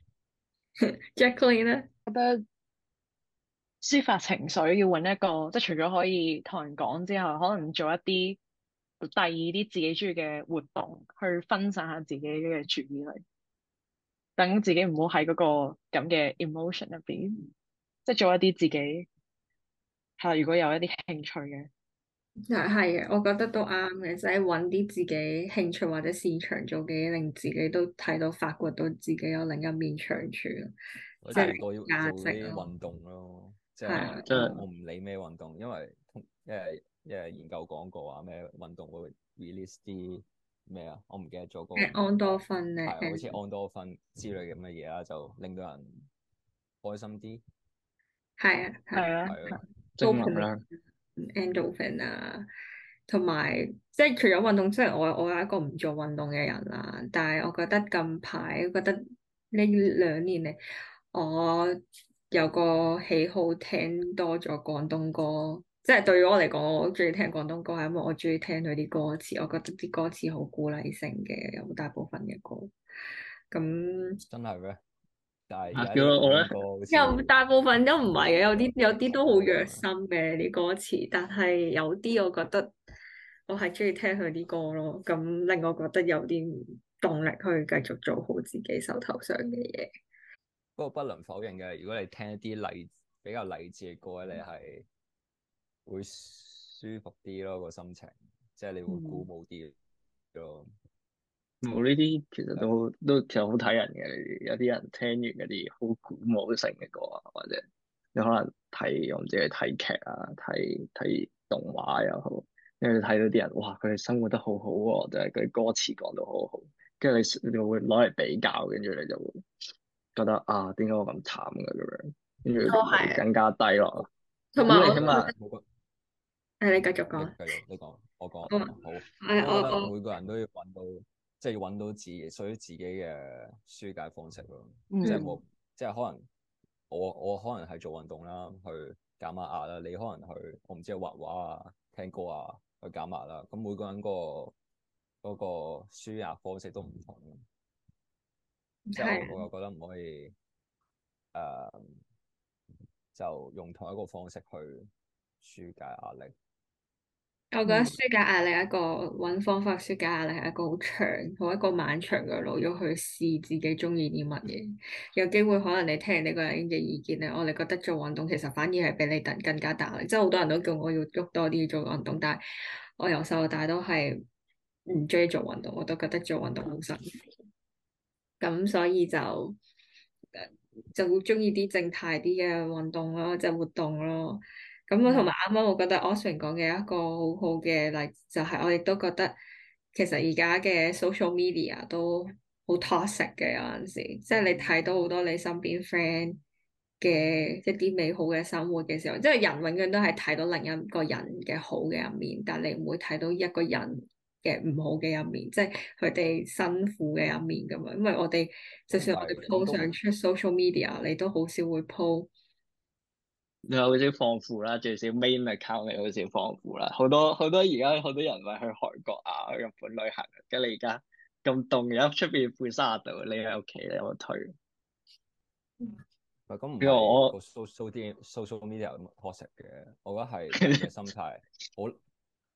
，Jacqueline 咧， 覺得抒發情緒要揾一個，即係除咗可以同人講之外，可能做一啲第二啲自己中意嘅活動，去分散下自己嘅注意力，等自己唔好喺嗰個咁嘅 emotion 入邊，即係做一啲自己係如果有一啲興趣嘅。 係係嘅，我覺得都啱嘅，即係揾啲自己興趣或者擅長做嘅嘢，令自己都睇到發掘到自己有另一面長處咯， 我即係做多做價值啲咯。 運動咯，即係啊係即係我唔理咩運動，因為通因為因為研究講過話咩運動會 release 啲咩啊，我唔記得咗嗰個誒安多芬咧， 係好似誒安多芬之類咁嘅嘢啦，就令到人開心啲， 係啊係係啊， 係啊， 正能量。 endorphin 啊，同埋即係除咗運動，即係我我係一個唔做運動嘅人啦。但係我覺得近排覺得呢兩年嚟，我有個喜好聽多咗廣東歌，即係對於我嚟講，我中意聽廣東歌係因為我中意聽佢啲歌詞，我覺得啲歌詞好鼓勵性嘅，有大部分嘅歌。咁真係咩？但係而啊家啲廣叫我咧， 東歌好有似大部分都唔係嘅，有啲有啲都好虐啊心嘅啲歌詞，但係有啲我覺得我係中意聽佢啲歌咯，咁令我覺得有啲動力去繼續做好自己手頭上嘅嘢。 不過不能否認嘅，如果你聽一啲勵比較勵志嘅歌咧，你係會舒服啲咯個心情，即係你會鼓舞啲咯。 冇呢啲其實都都其實好睇人嘅，呢啲有啲人聽完嗰啲好鼓舞性嘅歌啊，或者你可能睇我唔知係睇劇啊，睇睇動畫又好，跟住睇到啲人哇佢哋生活得好好喎，就係佢啲歌詞講到好好，跟住你你就會攞嚟比較，跟住你就會覺得啊點解我咁慘嘅咁樣，跟住都會係， 更加低落。 同埋我咁你起碼冇個誒，你繼續你講。 繼續，你講，我講， 我好。 誒我我覺得我每個人都要揾到，即係要揾到自己屬於自己嘅舒解方式咯。 嗯即係冇，即係可能我我可能係做運動啦，去減下壓啦。你可能去我唔知畫畫啊、聽歌啊去減壓啦。咁每個人嗰個嗰個舒壓方式都唔同。即係係我我又覺得唔可以誒、呃就用同一個方式去舒解壓力。 我覺得舒解壓力一個揾方法舒解壓力係一個好長、好一個漫長嘅路，要去試自己中意啲乜嘢。有機會可能你聽完呢個人嘅意見咧，我哋覺得做運動其實反而係比你更更加大壓力。即係好多人都叫我要喐多啲做運動，但係我由細到大都係唔中意做運動，我都覺得做運動好辛苦。咁所以就誒就會中意啲靜態啲嘅運動咯，即係活動咯。咁我同埋啱啱我覺得 Oswin 講嘅一個好好嘅例子，就係我亦都覺得其實而家嘅 social media 都好 toxic 嘅，有陣時，即係你睇到好多你身邊 friend 嘅一啲美好嘅生活嘅時候，即係人永遠都係睇到另一個人嘅好嘅一面，但你唔會睇到一個人嘅唔好嘅一面，即係佢哋辛苦嘅一面咁樣。因為我哋就算我哋 po 咁都上出 social media，你都好少會 po。 你好少放負啦，最少 main account 你好少放負啦。好多好多而家好多人咪去韓國啊、去日本旅行，跟住你而家咁凍，而家出邊負三十度，你喺屋企你有冇退？ 唔係咁唔因為我係個 social 啲 social media 咁 toxic 嘅，我覺得係人嘅心態好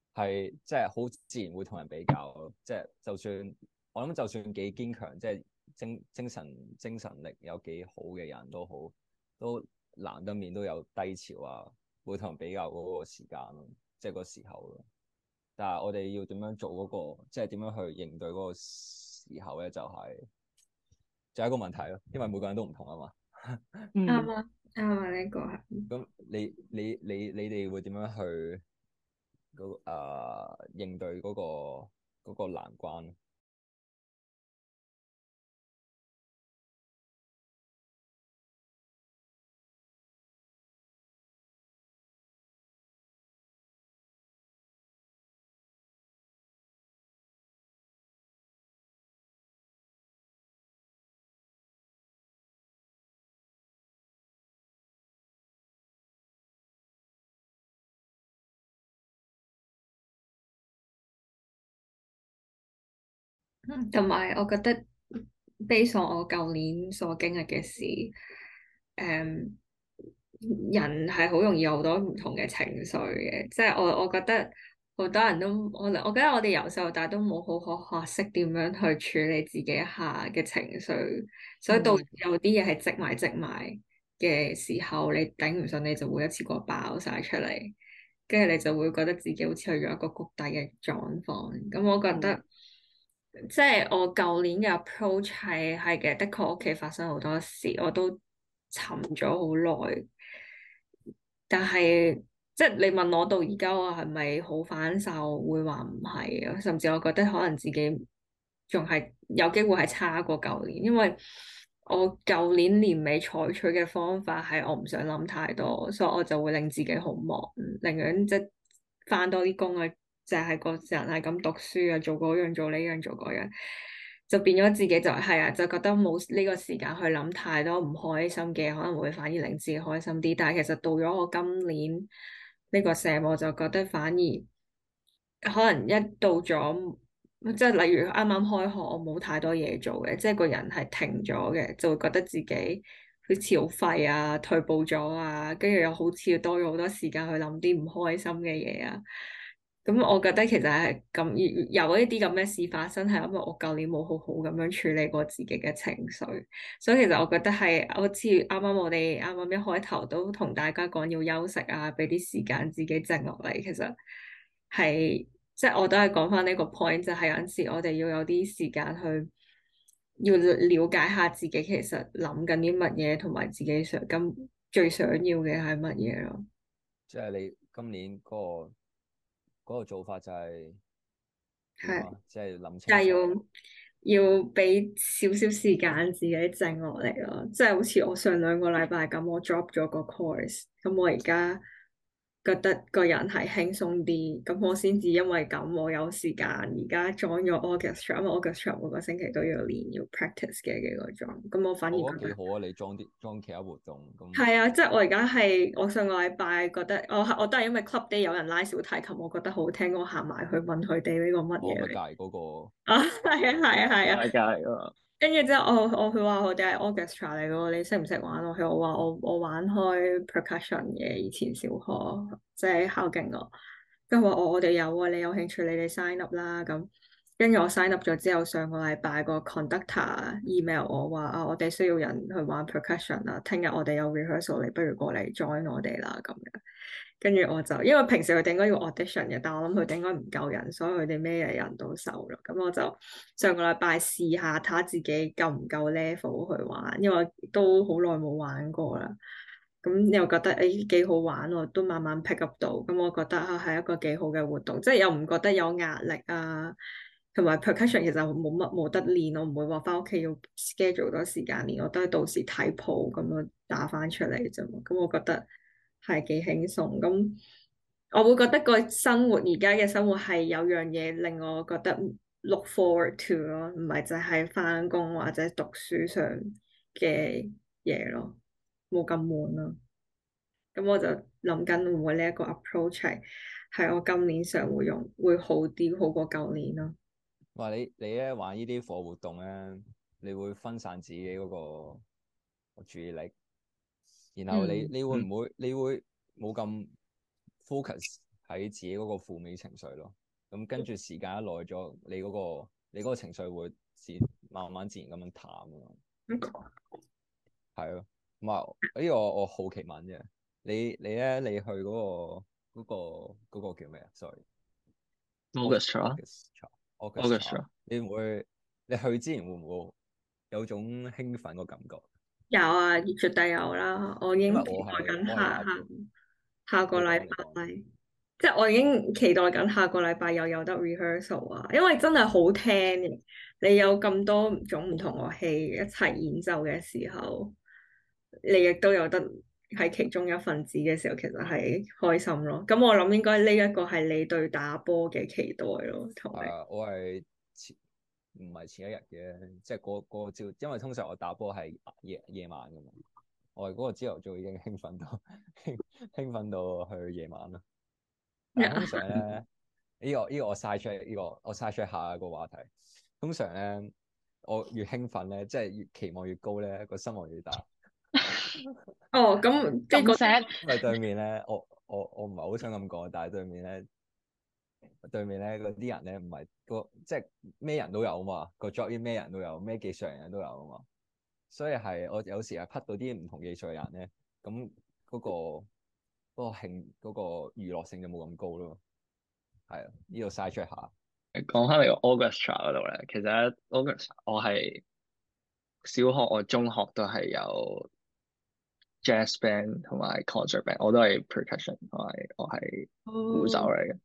係即係好自然會同人比較咯。即係就算我諗，就算幾堅強，即係精精神精神力有幾好嘅人都好，都難得免都有低潮啊，會同人比較嗰個時間咯，即係個時候咯。但係我哋要點樣做嗰個，即係點樣去應對嗰個時候咧，就係就係一個問題咯，因為每個人都唔同啊嘛。 嗯， 啱啊，啱啊，呢個係。 咁你你你你哋會點樣去嗰誒、呃、應對嗰、個嗰、個難關？ 同埋我覺得，base on我舊年所經歷嘅事，誒、人係好容易有好多唔同嘅情緒嘅，即係我我覺得好多人都我我覺得我哋由細到大都冇好好學識點樣去處理自己一下嘅情緒，所以到嗯有啲嘢係積埋積埋嘅時候，你頂唔順，你就會一次過爆晒出嚟，跟住你就會覺得自己好似去咗一個谷底嘅狀況。咁我覺得。 嗯即係我舊年嘅 approach 係係嘅，的確屋企發生好多事，我都沉咗好耐。但係即係你問我到而家我係咪好反受，會話唔係啊，甚至我覺得可能自己仲係有機會係差過舊年，因為我舊年年尾採取嘅方法係我唔想諗太多，所以我就會令自己好忙，寧願即係返多啲工啊，就係個人係咁讀書啊，做嗰樣做呢樣做嗰樣，就變咗自己就係啊，就覺得冇呢個時間去諗太多唔開心嘅，可能會反而令自己開心啲。但係其實到咗我今年呢個社，我就覺得反而可能一到咗，即係例如啱啱開學，我冇太多嘢做嘅，即係個人係停咗嘅，就會覺得自己好似好廢啊，退步咗啊，跟住又好似多咗好多時間去諗啲唔開心嘅嘢啊。咁我覺得其實係咁有一啲咁嘅事發生，係因為我舊年冇好好咁樣處理過自己嘅情緒，所以其實我覺得係好似啱啱我哋啱啱一開頭都同大家講要休息啊，俾啲時間自己靜落嚟。其實係即係我都係講翻呢個 point，就係有陣時我哋要有啲時間去要了解下自己其實諗緊啲乜嘢，同埋自己想咁最想要嘅係乜嘢咯。 即係你今年嗰、個嗰、個做法就係點係。 啊？即係諗就係清楚。 要要俾少少時間自己靜落嚟咯，即係好似我上兩個禮拜咁，我 drop 咗個 course，咁我而家覺得個人係輕鬆啲，咁我先至因為咁我有時間而家 join 咗 orchestra，因為 orchestra 每個星期都要練要 practice 嘅幾個鐘，咁我反而覺得我覺得幾好啊！你裝啲裝其他活動咁。 係啊，即係我而家係我上個禮拜覺得我我都係因為 club day 有人拉小提琴，我覺得好聽，我行埋去問佢哋呢個乜我咪嘢嚟。 隔離嗰個。 啊，係啊，係啊，係啊。 大家嚟㗎。 跟住之後，我我佢話我哋係 orchestra 嚟嘅喎，你識唔識玩？我佢我話我我玩開 percussion 嘅，以前小學即係考勁我。跟住話我我哋有啊，你有興趣你哋 sign up 啦咁。跟住我 sign up 咗之後，上個禮拜個 conductor email 我話啊，我哋需要人去玩 percussion 啊，聽日我哋有 rehearsal，你不如過嚟 join 我哋啦咁樣。跟住我就因為平時佢哋應該要 audition 嘅，但係我諗佢哋應該唔夠人，所以佢哋咩人都收咯。咁我就上個禮拜試下睇下自己夠唔夠 level 去玩，因為都好耐冇玩過啦。咁又覺得誒幾好玩喎，都慢慢 pick up 到。咁我覺得啊係一個幾好嘅活動，即係又唔覺得有壓力啊。同埋 percussion 其實冇乜冇得練，我唔會話翻屋企要 schedule 好多時間練，我都係到時睇譜咁樣打翻出嚟啫嘛。咁我覺得係幾輕鬆。咁我會覺得個生活而家嘅生活係有樣嘢令我覺得 look forward to 咯，唔係淨係翻工或者讀書上嘅嘢咯，冇咁悶咯。咁我就諗緊會唔會呢一個 approach 係係我今年上會用會好啲，好過舊年咯。 話你你咧玩呢啲課活動咧，你會分散自己嗰個注意力，然後你嗯你會唔會你會冇咁 focus 喺自己嗰個負面情緒咯。咁跟住時間一耐咗，你嗰、個你嗰個情緒會自慢慢自然咁樣淡咯。係咯，唔係呢個我好奇問啫。你你咧，你去嗰、個嗰、個嗰、個叫咩啊？sorry。 Orchestra，Orchestra， 你唔會你去之前會唔會有種興奮個感覺？ 有啊，絕對有啦，我已經期因為我係待緊我係下下下個你禮講你講， 拜，即係我已經期待緊下個禮拜又有得 rehearsal 啊，因為真係好聽嘅，你有咁多種唔同樂器一齊演奏嘅時候，你亦都有得喺其中一份子嘅時候，其實係開心咯。咁我諗應該呢一個係你對打波嘅期待咯，同你。 係啊，我係前唔係前一日嘅，即係嗰嗰個朝，因為通常我打波係夜夜晚噶嘛，我係嗰個朝頭早已經興奮到興興奮到去夜晚啦。但係通常咧，呢、呢個呢、呢個我嘥出呢、呢個我嘥出下一個話題。通常咧，我越興奮咧，即係越期望越高咧，個心望越大。 哦，咁即係咁錫因為對面咧，我我我唔係好想咁講，但係對面咧，對面咧嗰啲人咧唔係個即係咩人都有啊嘛，個 job 咩人都有，咩技術人都有啊嘛，所以係我有時係匹到啲唔同技術嘅人咧，咁嗰、嗰個嗰、嗰個興嗰、嗰個娛樂性就冇咁高咯。係啊，呢度嘥出下。 講翻嚟個 orchestra 嗰度咧，其實咧 orchestra 我係小學、我中學都係有 jazz band 同埋 concert band，我都係 percussion 同埋我係鼓手哦嚟嘅。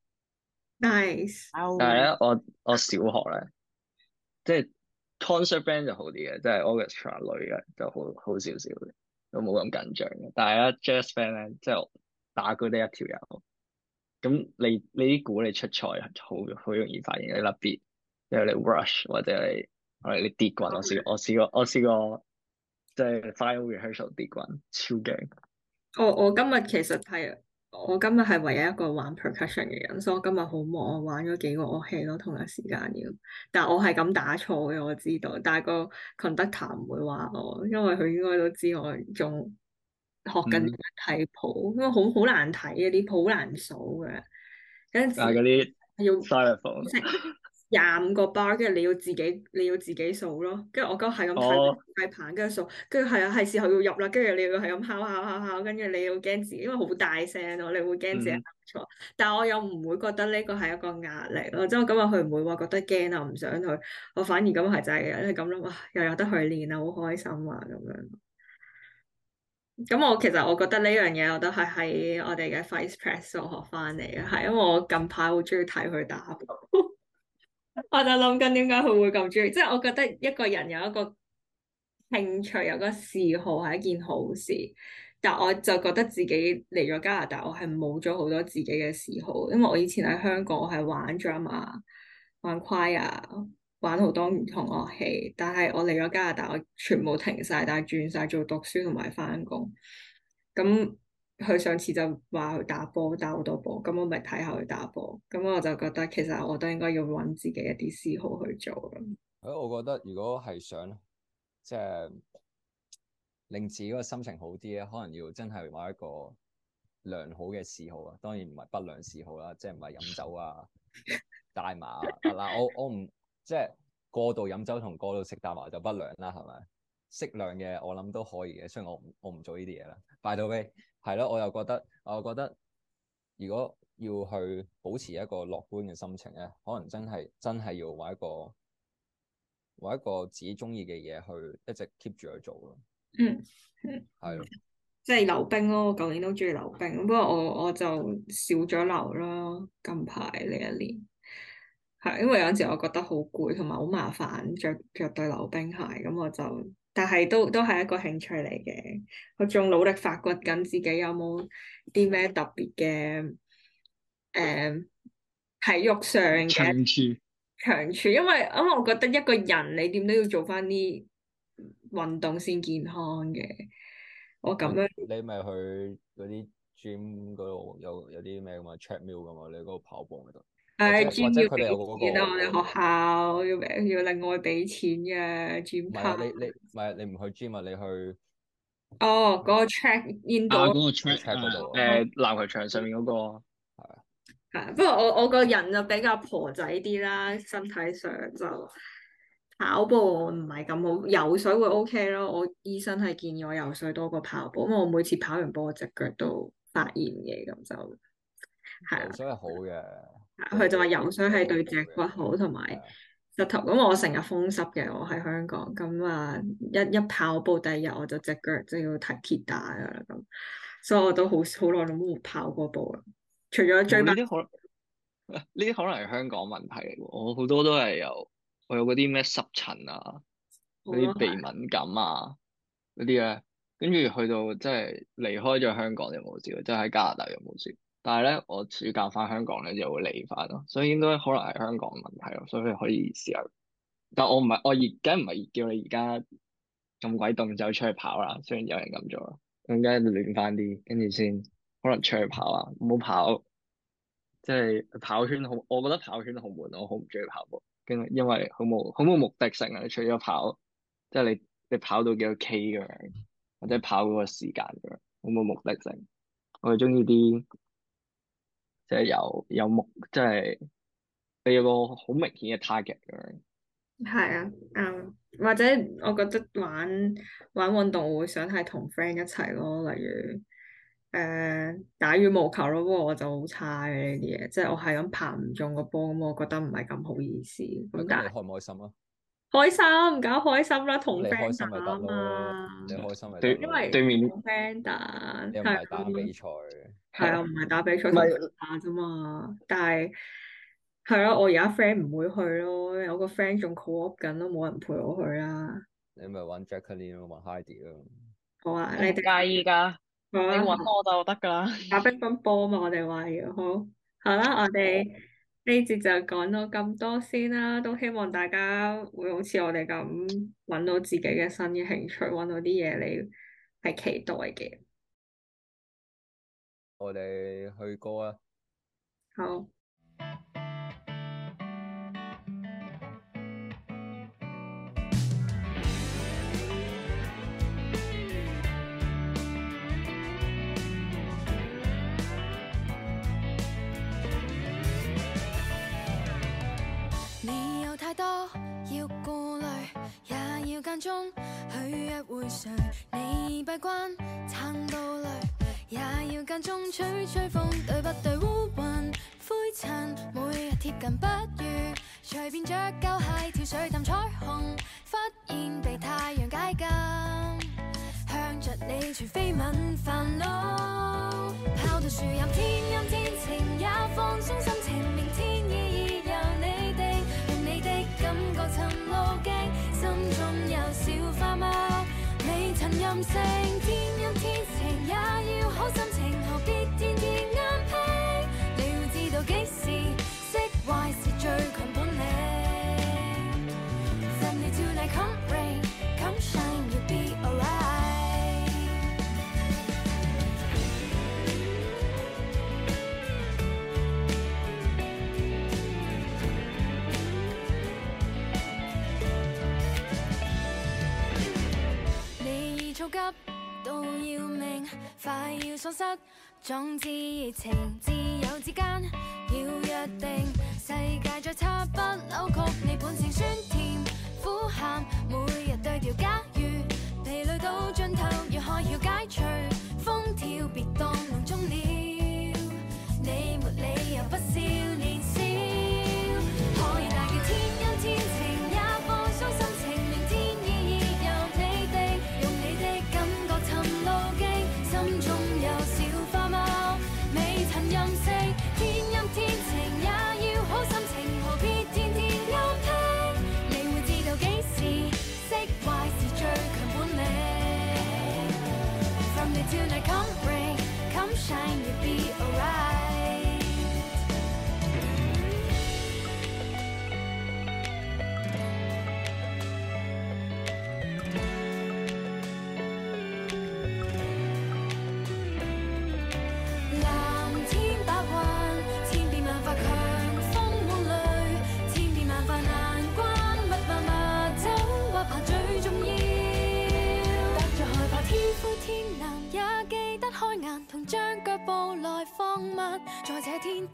，nice。 但係咧，我我小學咧，即係 concert band 就好啲嘅，即係 orchestra 類嘅就好好少少嘅，都冇咁緊張嘅。但係咧 jazz band 咧，即係我打鼓得一條友，咁你你啲鼓你出賽好好容易發現你甩 beat，因為你 rush 或者你或者你跌棍，我試過我試過我試過即係 final rehearsal 跌棍，超勁。 我我今日其實係我今日係唯一一個玩 percussion 嘅人，所以我今日好忙，我玩咗幾個樂器咯，同一時間要。但我係咁打錯嘅，我知道，但係個 conductor 唔會話我，因為佢應該都知我仲學緊點樣睇譜，因為好好難睇嘅啲譜，好難數嘅。有陣但係嗰啲要 xylophone 識廿五個 bar，跟住你要自己你要自己數咯，跟住我嗰係咁哦睇計盤，跟住數，跟住係啊係時候要入啦，跟住你要係咁敲敲敲敲，跟住你要驚自己，因為好大聲咯，你會驚自己嗯答錯，但係我又唔會覺得呢個係一個壓力咯，即係我今日佢唔會話覺得驚啊，唔想去，我反而咁係就係嘅，你咁諗哇，又有得去練啊，好開心啊咁樣。咁我其實我覺得呢樣嘢我都係喺我哋嘅 Vice Press 度學翻嚟嘅，係因為我近排好中意睇佢打波，我就諗緊點解佢會咁中意，即係我覺得一個人有一個興趣有個嗜好係一件好事，但我就覺得自己嚟咗加拿大，我係冇咗好多自己嘅嗜好，因為我以前喺香港我係玩 drama、玩 choir、玩好多唔同樂器，但係我嚟咗加拿大，我全部停晒，但係轉晒做讀書同埋翻工。咁佢上次就話去打波，打好多波，咁我咪睇下佢打波。咁我就覺得其實我都應該要揾自己一啲嗜好去做咯。 誒，我覺得如果係想即係令自己個心情好啲咧，可能要真係揾一個良好嘅嗜好啊。當然唔係不良嗜好啦，即係唔係飲酒啊、大麻啊。嗱，我我唔即係過度飲酒同過度食大麻就不良啦，係咪？適量嘅我諗都可以嘅，雖然我唔我唔做呢啲嘢啦。By the way，係咯，我又覺得我又覺得如果要去保持一個樂觀嘅心情咧，可能真係真係要揾一個揾一個自己中意嘅嘢去一直 keep 住去做咯。 嗯， 係咯， 即係溜冰咯，我舊年都中意溜冰，不過我我就少咗溜啦。近排呢一年係因為有陣時我覺得好攰，同埋好麻煩着着對溜冰鞋，咁我就但係都都係一個興趣嚟嘅。我仲努力發掘緊自己有冇啲咩特別嘅誒體育上嘅長處。 長處，因為因為我覺得一個人你點都要做翻啲運動先健康嘅。我咁樣你咪去嗰啲 gym 嗰度有有啲咩咁啊 treadmill 咁嘛？你嗰度跑步嗰度， 誒或者 gym 要俾或者佢哋有嗰錢啊！ 個我哋學校要要另外俾錢嘅 gym 唔係啊， pass。 你你唔係你唔去 gym 啊，你去哦，嗰個 track 啊，嗰 indoor 個去 track track 嗰啊， 度啊， 誒籃球場上面嗰個。 係啊， 係，不過我我個人就比較婆仔啲啦，身體上就跑步我唔係咁好，游水會 OK 咯。我醫生係建議我游水多過跑步，因為我每次跑完步我隻腳都發炎嘅，咁就係啦。 游水係好嘅， 佢就話游水係對好脊骨好，同埋係啊膝頭。咁我成日風濕嘅，我喺香港，咁啊一一跑步第二日我就隻腳就要提鐵打噶啦咁，所以我都好好耐都冇跑過步啦。除咗追班， 冇呢啲可能呢啲可能係香港問題嚟喎。我好多都係有我有嗰啲咩濕疹啊，嗰啲鼻敏感啊嗰啲咧，跟住去到即係離開咗香港就冇事，即係喺加拿大就冇事。但係咧，我暑假翻香港咧就會嚟翻咯，所以應該可能係香港問題咯，所以可以試下。但我唔係我而梗唔係叫你而家咁鬼凍就出去跑啦，雖然有人咁做啦，咁梗係暖翻啲，跟住先可能出去跑啊，唔好跑。即係跑圈好，我覺得跑圈好悶，我好唔中意跑步，跟住因為好冇好冇目的性啊！你除咗跑，即係你你跑到幾多 K 咁樣，或者跑嗰個時間咁樣，好冇目的性。我係中意啲即係有有目，即係你有個好明顯嘅 target 咁樣。 係啊，啱。或者我覺得玩玩運動我會想係同 friend 一齊咯，例如。誒、打羽毛球咯，不過我就好差嘅呢啲嘢，即係我係咁拍唔中個波，咁我覺得唔係咁好意思。咁咁你但係開唔開心啊？ 開心，梗係開心啦，同你開 friend 心咪打啊得咯， 嘛。 你開心咪得對因咯。 為對面同 friend 打， 你又唔係係打比賽， 係啊，唔係打比賽， 唔同係打啫嘛。但係係咯，我而家 friend 唔會去咯，有個 friend 仲 co-op 緊都冇人陪我去啦。 你咪揾 Jacqueline 咯，揾 Heidi 咯。 好啊， 我唔你哋介意㗎， 好啊， 你揾我就得㗎啦。 打乒乓波嘛，我哋話要好，好啦，我哋呢節就講到咁多先啦，都希望大家會好似我哋咁揾到自己嘅新嘅興趣，揾到啲嘢你係期待嘅。 我哋去歌啊！ 好。 你有太多要顧慮，也要間中去約會誰？你閉關撐到累，也要間中吹吹風，對不對？烏雲灰塵，每日貼近不如隨便着舊鞋跳水浸彩虹，忽然被太陽解禁，向着你除非問煩惱，跑到樹蔭天陰天晴也放鬆心情，明天意義由你定，讓你的感覺尋路徑，心中有小花貓，未曾任性，天陰天晴也要好心情，何必天天啱拼？你會知道幾時釋懷是最強本領。From day to night, come rain, come shine, you'll be alright。你已躁急到要命，快要喪失壯志熱情，自由之間要約定，世界再差不扭曲你本性酸甜苦鹹，每日對調，假如疲累到盡頭，如何要解除風跳，別當夢中了，你沒理由不少年少，可以大叫天陰天晴也放鬆心情，明天意義由你定，用你的感覺尋路徑，心中有小花貓，未曾任性，天陰天晴也要好心情，何必天天勾拼？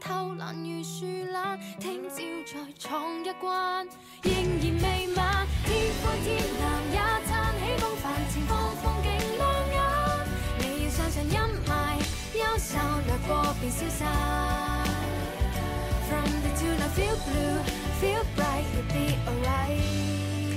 偷懶如樹懶，聽朝再闖一關，仍然未晚。天灰天藍也撐起風帆，前方風景亮眼。你要相信陰霾，憂愁掠過便消散。From the two now feel blue, feel bright, you'll be alright.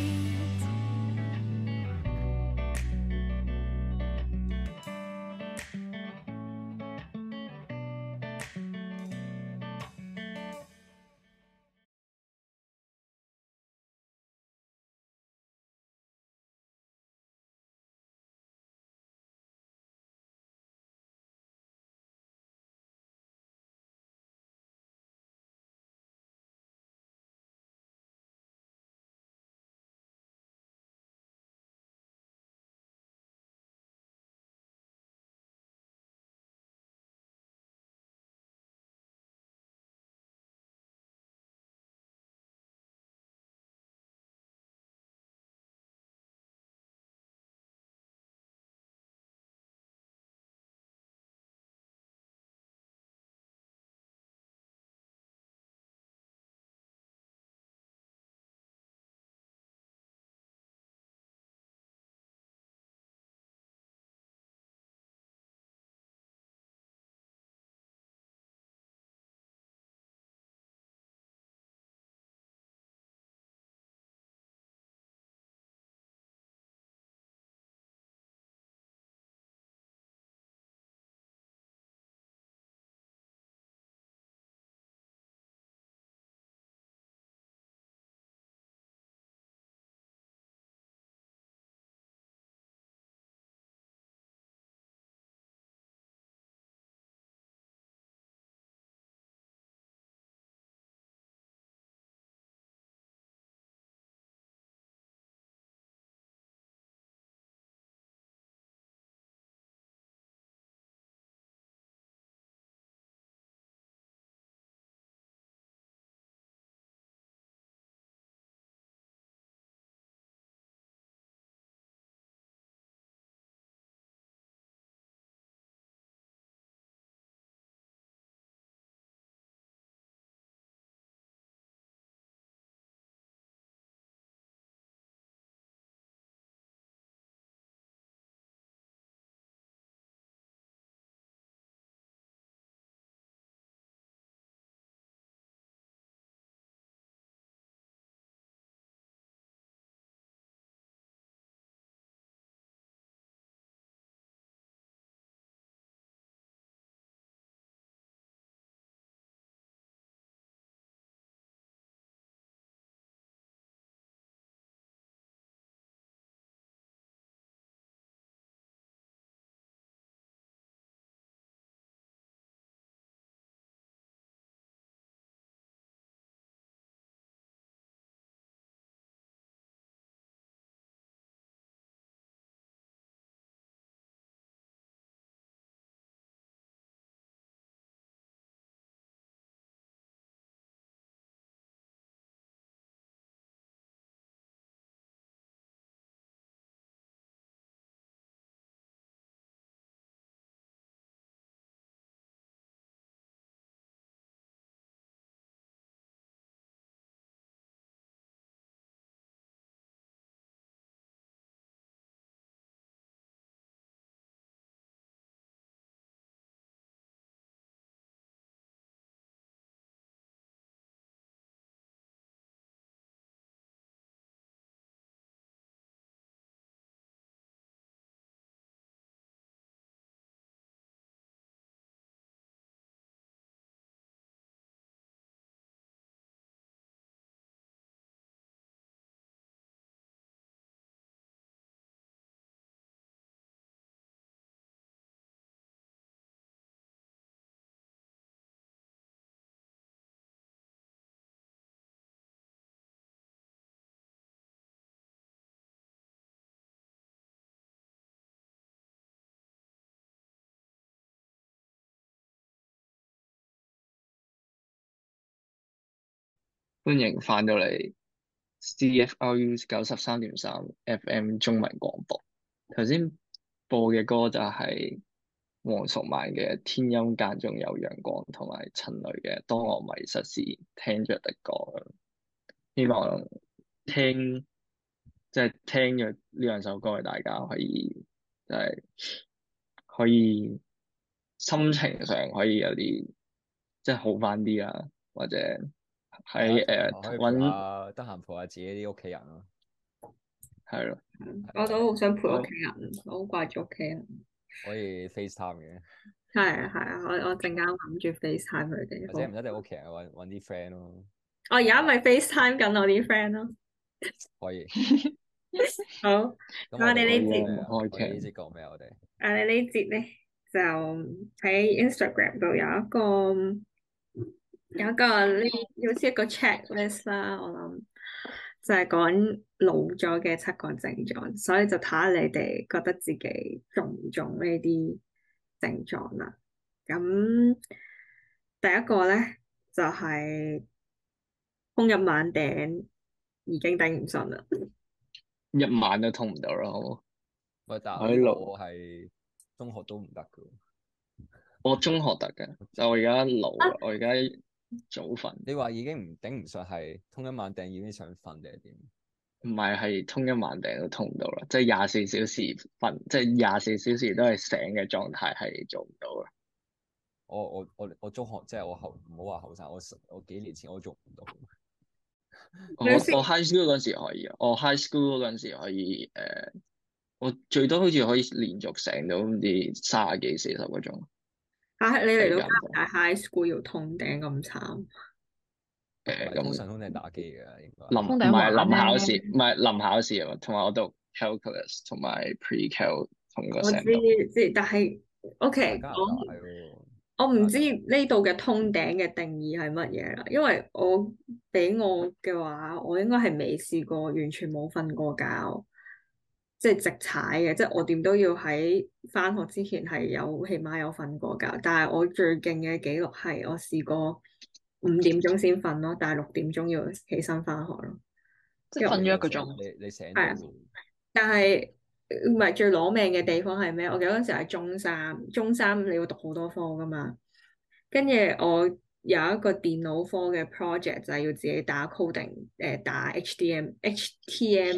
歡迎翻到嚟 C F R U 九十三點三 F M 中文廣播。頭先播嘅歌就係黃淑曼嘅天陰間中有陽光，同埋陳蕾嘅當我迷失時聽着的歌。希望聽即係聽咗呢兩首歌嘅大家可以即係可以心情上可以有啲即係好翻啲啊，或者喺誒可以陪揾下得閒陪下自己啲屋企人咯。 係咯， 我都好想陪屋企人，我好掛住屋企人。 可以 FaceTime 嘅， 係啊係啊，我我陣間諗住 FaceTime 佢哋。 或者唔一定屋企人，揾揾啲 friend 咯。 我而家咪 FaceTime 緊我啲 friend 咯。 可以。 好， 咁我哋呢節節開我哋呢節講咩啊？我哋我哋呢節咧就喺 Instagram 度有一個有一個呢好似一個 checklist 啦，我諗就係講老咗嘅七個症狀，所以就睇下你哋覺得自己中唔中呢啲症狀啦。咁第一個咧就係、是、通一晚頂已經頂唔順啦。 一晚都通唔到啦，好冇？ 喂，但喺度係我係中學都唔得噶。 我中學得嘅，但我而家老啦，我而家早瞓。 你話已經唔頂唔順，係通一晚頂已經想瞓定係點？ 唔係，係通一晚頂都通唔到啦，即係廿四小時瞓，即係廿四小時都係醒嘅狀態係做唔到啦。 我我我我中學即係我後唔好話後生，我我幾年前我做唔到。 我我 high school 嗰陣時可以啊，我 high school 嗰陣時可以誒、呃，我最多好似可以連續醒到唔知卅幾四十個鐘。 啊！你嚟到加時間拿大 high school 要通頂咁慘？ 誒通咁常通常打機嘅應該。 臨唔通頂玩係臨考咧試，唔係臨考試啊，同埋我讀 calculus 同埋 pre-cal 同個我知成度。 知，但係 OK 加拿大講。 喎。 我唔知呢度嘅通頂嘅定義係乜嘢啦，因為我俾我嘅話，我應該係未試過完全冇瞓過覺，即係直踩嘅，即係我點都要喺返學之前係有起碼有瞓過覺。但係我最勁嘅記錄係我試過五點鐘先瞓咯，但係六點鐘要起身返學咯。 即係瞓咗一個鐘。 你你醒係啊到喎。 但係唔係最攞命嘅地方係咩？我記得嗰陣時係中三，中三你要讀好多科噶嘛。跟住我有一個電腦科嘅 project 就係要自己打 coding，誒、呃、打 H D M H T M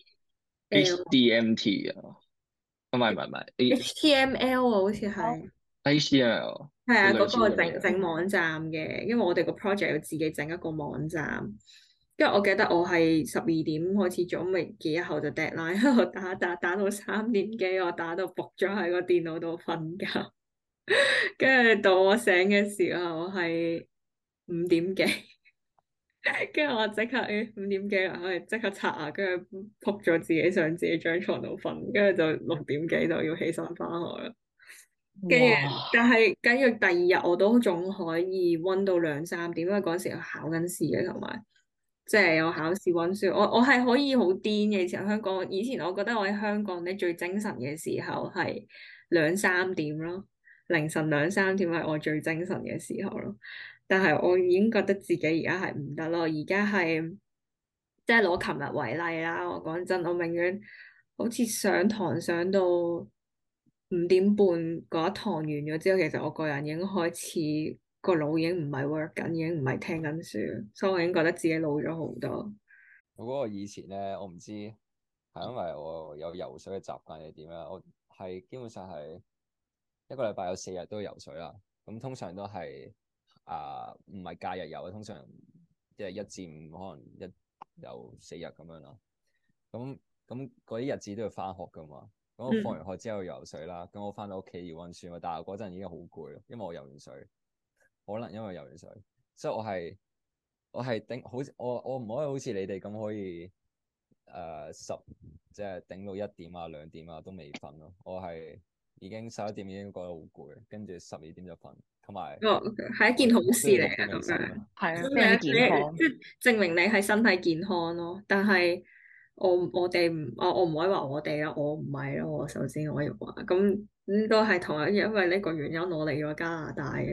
H D M T 啊，唔係唔係唔係 H T M L 啊，好似係 H T M L 係啊， 類嗰個似嘅嘢整整網站嘅，因為我哋個 project 要自己整一個網站。跟住我記得我係十二點開始做，咪幾日後就 deadline，我打打打到三點幾，我打到仆咗喺個電腦度瞓覺。跟住到我醒嘅時候係五點幾，跟住我即刻誒五點幾啦，我係即刻刷牙，跟住仆咗自己上自己張床度瞓，跟住就六點幾就要起身翻學啦。跟住， 哇！ 但係跟住第二日我都仲可以溫到兩三點，因為嗰陣時考緊試嘅，同埋即係有考試溫書。我我係可以好癲嘅。以前香港，以前我覺得我喺香港咧最精神嘅時候係兩三點咯，凌晨兩三點係我最精神嘅時候咯。但係我已經覺得自己而家係唔得咯，而家係即係攞琴日為例啦。我講真，我永遠好似上堂上到五點半嗰一堂完咗之後，其實我個人已經開始個腦已經唔係 work 緊，已經唔係聽緊書，所以我已經覺得自己老咗好多。 我嗰個以前咧，我唔知係因為我有游水嘅習慣定點啦。我係基本上係一個禮拜有四日都游水啦。咁通常都係啊，唔係假日游，通常即係一至五可能一游四日咁樣啦。咁咁嗰啲日子都要翻學噶嘛。咁我放完學之後游水啦，咁我翻到屋企要温書嘛，但係嗰陣已經好攰咯，因為我游完水，可能因為游完水，所以我係我係頂好，我我唔可以好似你哋咁可以誒、呃、十即係頂到一點啊兩點啊都未瞓咯，我係已經十一點已經覺得好攰，跟住十二點就瞓，同埋哦，係一件好事嚟嘅咁樣， 係啊， 咁非常之你健康。 即係證明你係身體健康咯。但係我我哋唔，我我唔可以話我哋啦，我唔係咯。我首先我要話咁咁都係同一，因為呢個原因我嚟咗加拿大嘅，因為實在實在太辛苦啦，咁樣讀書法。誒、嗯，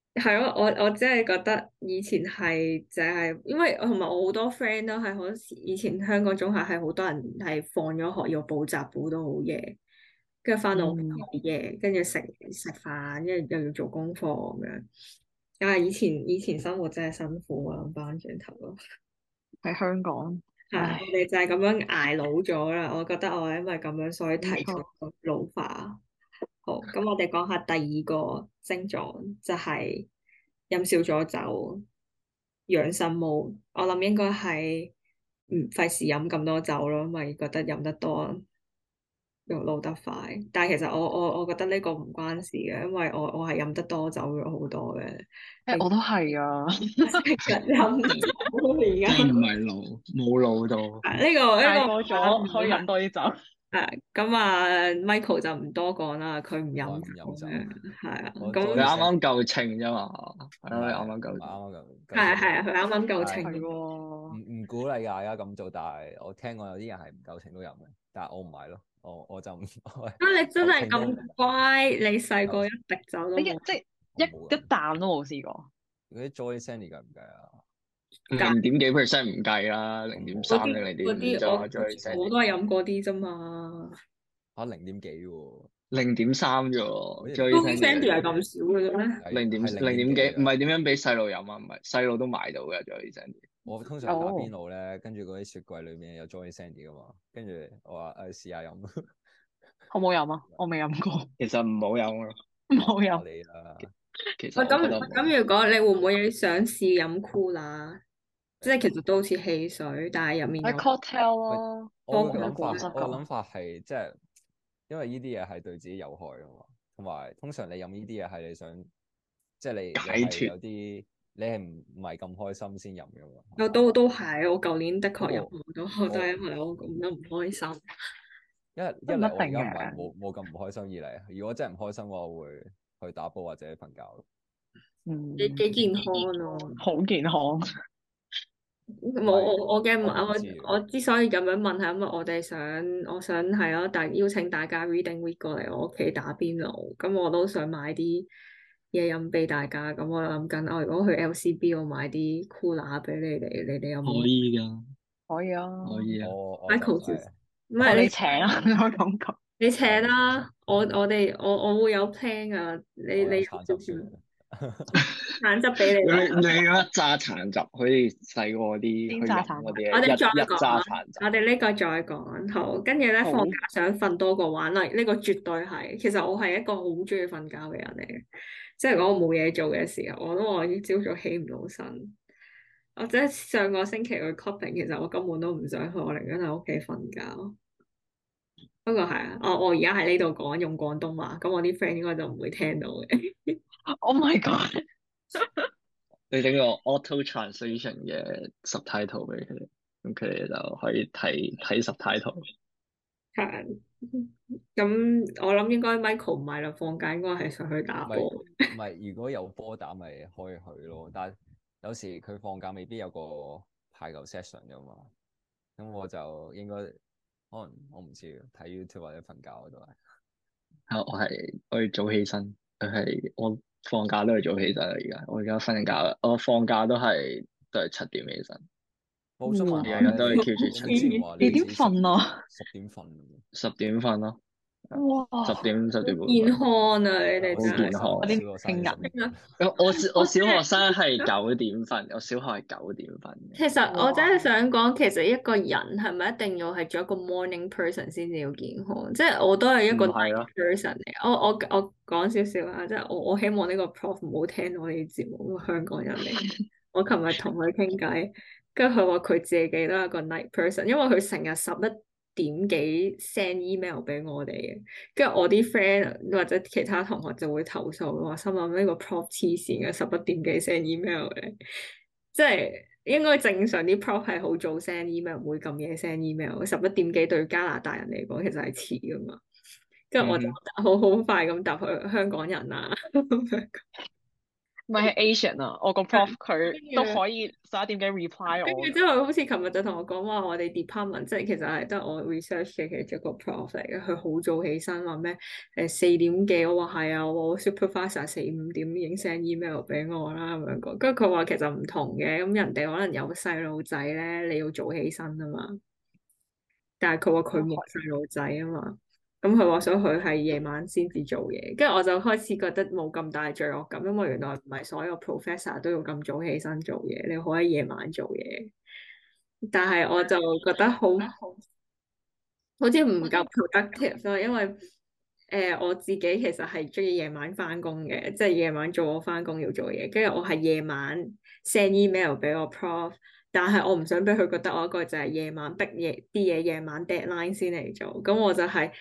係咯，我我真係覺得以前係就係，因為同埋我好多 friend 都係好時以前香港中學係好多人係放咗學要補習補到好夜，跟住翻到屋企嗯， 好夜，跟住食食飯，跟住又要做功課咁樣。啊！以前以前生活真係辛苦啊，諗翻轉頭咯。 喺香港， 係啊， 唉， 我哋就係咁樣捱老咗啦。我覺得我係因為咁樣，所以提冇出錯。 老化。好，咁我哋講下第二個症狀，就係飲少咗酒，養生毛。我諗應該係唔費事飲咁多酒咯，因為覺得飲得多又老得快。但係其實我我我覺得呢個唔關事嘅，因為我我係飲得多酒咗好多嘅， 誒，我都係啊。 成日飲酒而真係唔家。 係老，冇老到。 啊呢個呢大個個咗可以飲多啲酒。 誒咁啊，Michael 就唔多講啦，佢唔我飲唔飲酒， 酒嘅，係啊， 我咁你啱 Joy 啱夠稱啫嘛，係咯，你唔係啱啱夠唔係啱啱咁夠係啊稱嘅， 係啊，佢啱啱夠但係稱， 係唔喎。 唔鼓勵大家咁做，但係我聽過有啲人係唔夠稱都飲嘅，但係我唔係咯，我我就唔我係啊你真係夠稱都咁乖，你細個夠一滴酒都你一冇， 即係一我冇一㗎， 啖都冇試過。 嗰啲 Joy Sandy 計唔計啊？ 零點幾 percent 唔計啦，零點我冇嗰啲三定零點嗰五啫嘛， 啲我最我都係飲嗰啲啫嘛嚇零點幾喎， 零點三啫好喎， 似零最 ，Joey 新 Sandy 係嘅咁少嘅啫咩？ 係零點係零點幾， 零點幾㗎。 唔係點樣俾細路飲啊？唔係細路都買到嘅，最新。 我通常打邊哦， 爐咧，跟住嗰啲雪櫃裏面有 Joy Sandy 噶嘛，跟住我話誒試下飲， 好冇飲啊？我未飲過， 其實唔好飲咯， 冇飲。 話你啦， 其實喂，咁我覺得唔好飲。 咁如果你會唔會想試飲 Cooler？即係其實都好似汽水，但係入面喺有 cocktail 喂， 咯， 我多果個諗法， 果汁㗎。 我個諗法係即係，因為呢啲嘢係對自己有害噶嘛，同埋通常你飲呢啲嘢係你想，即係你你係解脫有啲你係唔唔係咁開心先飲噶嘛，係嘛？ 我都都係，我舊年的不確飲過好多，我都係我因為我咁樣唔開心。 一一都唔一嚟我而定家唔係嘅。 冇冇咁唔開心，二嚟如果真係唔開心嘅話，我會去打波或者瞓覺咯。 幾嗯， 幾健康咯。 好健康。 冇唔係我我嘅我唔我知嘅， 我之所以咁樣問係因為我哋想我想係咯，但邀請大家 Reading Week 過嚟我屋企打邊爐，咁我都想買啲嘢飲俾大家，咁我諗緊我如果去 L C B 我買啲 Cooler 俾你哋，你哋有可冇以㗎， 可以啊。 可以啊。 我我就 ？Michael 誒先，唔哦， 係你你請啊？我感覺。 你請我唔請啦，我我我哋我我會有 plan 啊，你我有你有少橙汁算少啦。 橙汁俾你你啦。 你嗰揸橙汁，好似細個啲去飲煎炸橙汁。 嗰啲我哋再一一講啊， 揸橙汁。 我哋呢個再講好，跟住咧好。 放假想瞓多過玩啦，呢個絕對係。其實我係一個好中意瞓覺嘅人嚟嘅，即係講我冇嘢做嘅時候，我都話朝早起唔到身。我即係上個星期去 clubbing，其實我根本都唔想去，我寧願喺屋企瞓覺。不過係啊，我我而家喺呢度講用廣東話，咁我啲 friend 應該就唔會聽到嘅。 Oh my god！ 你整個 auto translation 嘅 subtitle 俾佢哋，咁佢哋就可以睇睇 subtitle。 係，咁我諗應該 Michael 唔係啦，放假應該係上去打唔係波。 唔係，如果有波打咪可以去咯，但係有時佢放假未必有個排球 session 噶嘛，咁我就應該可能我唔知睇 YouTube 或者瞓覺都係。 啊，我係我要早起身，佢係我放假都係早起身啦。而家我而家瞓緊覺啦，我放假都係都係七點起身， 我想問下日日都係咧， keep 住你七點， 你之前話你點你自己十瞓啊？ 十點瞓嘅十點瞓咯， 哇！ 十點十點半健瞓。 康啊！你哋好真係。 健康我啲小學生聽嘅十點人。 我我小我小學生係九點瞓，我小學係九點瞓嘅。 其實我真係哇！ 想講，其實一個人係咪一定要係做一個 morning person 先至要健康？即係我都係一個唔係 night 咯， person 嚟。我我我講少少啊，即係我我希望呢個 prof 唔好聽我哋節目，香港人嚟。我琴日同佢傾偈，跟住佢話佢自己都係一個 night person，因為佢成日十一點幾 send email 俾我哋嘅，跟住我啲 friend 或者其他同學就會投訴，話心諗呢個 prof 黐線嘅，十一點幾 send email 嘅，即係應該正常啲 prof 係好早 send email，唔會咁夜 send email。十一點幾對加拿大人嚟講其實係遲噶嘛，跟住我就嗯哼， 好好快咁答佢香港人啊咁樣。 唔係係 Asian 啊，我個 prof 佢都可以十一點幾 reply 跟我㗎。 住之後，好似琴日就同我講話，我哋 department 即係其實係得我 research 嘅其中一個 prof 嚟嘅，佢好早起身話咩誒四點幾，我話係啊，我 supervisor 四五點已經 send email 俾我啦咁樣講，跟住佢話其實唔同嘅，咁人哋可能有細路仔咧，你要早起身啊嘛，但係佢話佢冇細路仔啊嘛。咁佢話所以佢係夜晚先至做嘢，跟住我就開始覺得冇咁大罪惡感，因為原來唔係所有 professor 都要咁早起身做嘢，你可以夜晚做嘢。但係我就覺得好好似唔夠 productive 咯，因為誒、呃、我自己其實係中意夜晚翻工嘅，即係夜晚做我翻工要做嘢，跟住我係夜晚 send email 俾我 prof，但係我唔想俾佢覺得我一個就係夜晚逼嘢啲嘢夜晚 deadline 先嚟做，咁我就係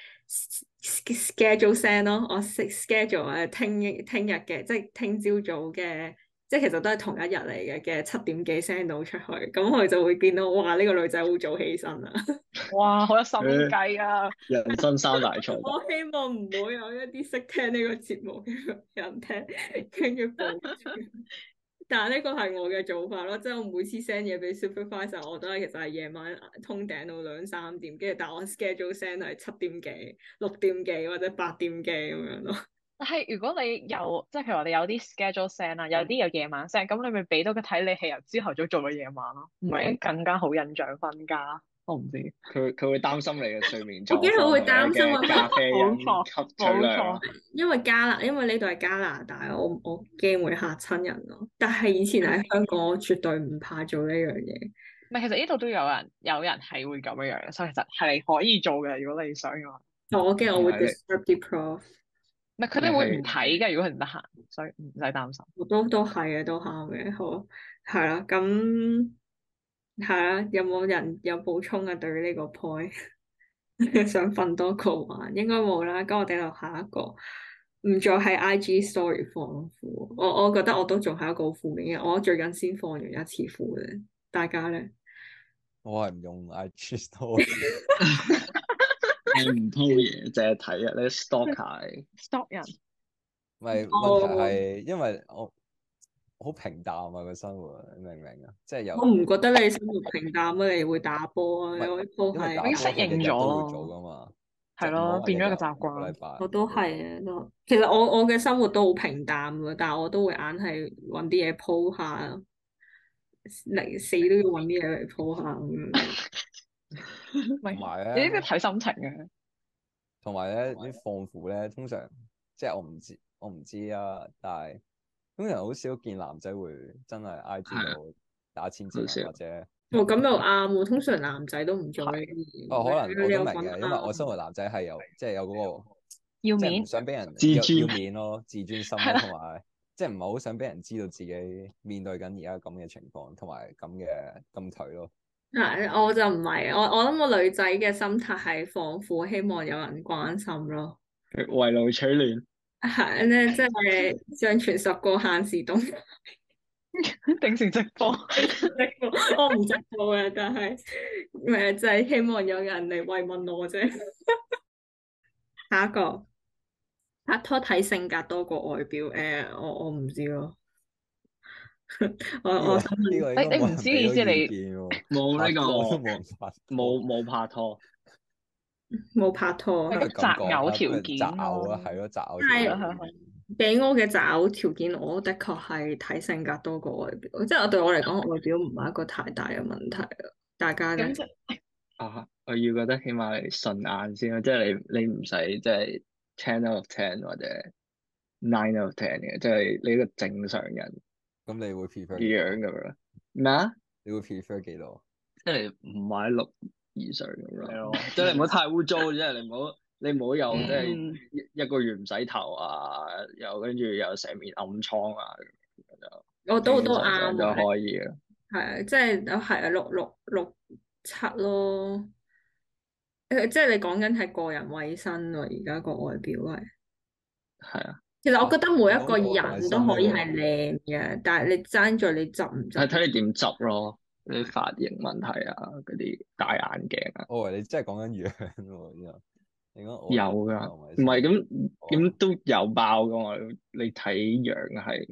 schedule send 咯，我 schedule 誒聽聽日嘅，即係聽朝早嘅。即係其實都係同一日嚟嘅嘅七點幾 send 到出去，咁佢就會見到哇呢、這個女仔好早起身啊！ 哇，好有心計啊！ 人生三大錯我希望唔會有一啲識聽呢個節目嘅人聽，跟住報住。但係呢個係我嘅做法咯，即係我每次 send 嘢俾 supervisor，我都係其實係夜晚通頂到兩三點，跟住但係我 schedule send 係七點幾、六點幾或者八點幾咁樣咯。 但係如果你有即係譬如話你有啲 schedule send 啦，有啲有夜晚 send，咁你咪俾到佢睇你係由朝頭早做到夜晚咯，唔係更加好印象瞓覺？我唔知， 佢佢會擔心你嘅睡眠狀我驚佢會擔心我況同埋你嘅咖啡因冇錯吸取量。 因為加拿，因為呢度係加拿大，我我驚會嚇親人咯。但係以前喺香港，我絕對唔怕做呢樣嘢。 唔係，其實呢度都有人有人係會咁樣樣嘅，所以其實係可以做嘅，如果你想嘅話。 但我驚我會係你 disturb 啲 prof。 唔係佢哋會唔睇嘅，如果佢唔得閒，所以唔使擔心。 我都都係嘅，都啱嘅。好，係啦，咁係啦，有冇人有補充啊？對於呢個 point，想瞓多個晚，應該冇啦。咁我哋就下一個，唔再係 I G story 放負。我我覺得我都仲係一個好負面嘅，我最近先放完一次負嘅。大家咧？ 我係唔用 I G story。 你唔 po 嘢，淨係睇啊！你 stalk 下你 stop 人。 唔係問題係，因為我好平淡啊個生活，你明唔明啊？即係有我唔覺得你生活平淡啊，你會打波啊， 唔係你可以 po 因為打係。 已經適應咗波係日日都會做噶嘛， 係咯，變咗一個習慣。 個禮拜我都係啊，都其實我我嘅生活都好平淡㗎，但係我都會硬係揾啲嘢 po 下，嚟死都要揾啲嘢嚟 po 下咁樣。 唔係同埋你呢咧啲睇心情嘅。 同埋咧啲放負咧，通常即係我唔知我唔知啊，但係通常好少見男仔會真係 I G 度打千字好少文或者哦，咁又啱喎，通常男仔都唔做呢啲嘢。 哦，可能我你有都明嘅， 講因為我啱身為男仔係有即係有嗰個要面即係唔想俾人自尊要要面咯，自尊心咯，同埋即係唔係好想俾人知道自己面對緊而家咁嘅情況，同埋咁嘅咁頹咯。 嗱，我就唔係，我我諗個女仔嘅心態係放負，希望有人關心咯。 圍爐取暖。 係咧，即係上傳十個限時動態。 定時直播。 我唔直播嘅，但係誒就係希望有人嚟慰問我啫。下一個拍拖睇性格多過外表，誒、我我唔知咯。我呢個我想問呢個應該你你唔知意思你冇呢個冇冇人拍拖冇冇拍拖， 冇拍拖， 係擇偶條件擇偶咯啊，係咯，擇偶係條件係係俾我嘅擇偶條件，我的確係睇性格多過外表。即係我對我嚟講，外表唔係一個太大嘅問題啊。大家咧咁，即啊，我要覺得起碼你順眼先咯，即係你你唔使即係 ten out of ten 或者 nine out of ten 嘅，即係你一個正常人咁你會 prefer 嘅樣咁樣。咩啊？ 你會 prefer 幾多？ 即係唔係六以上咁係咯， 咯即係你唔好太污糟，即係你唔好你唔好有即係嗯一一個月唔洗頭啊，又跟住又成面暗瘡啊，咁就我都都正正常常就啱啊。 可以嘅。 係啊，即係係啊，六六六七咯。誒，即係你講緊係個人衞生喎，而家個外表係。 係啊， 其實我覺得每一個講個人人都可以衞生係靚嘅，但係你爭在你執唔執。 係睇你點執咯，啲髮型問題啊，嗰啲戴眼鏡啊， 我以為你真係講緊樣喎，之後你講我有噶，唔係咁咁都有爆噶嘛，你睇樣係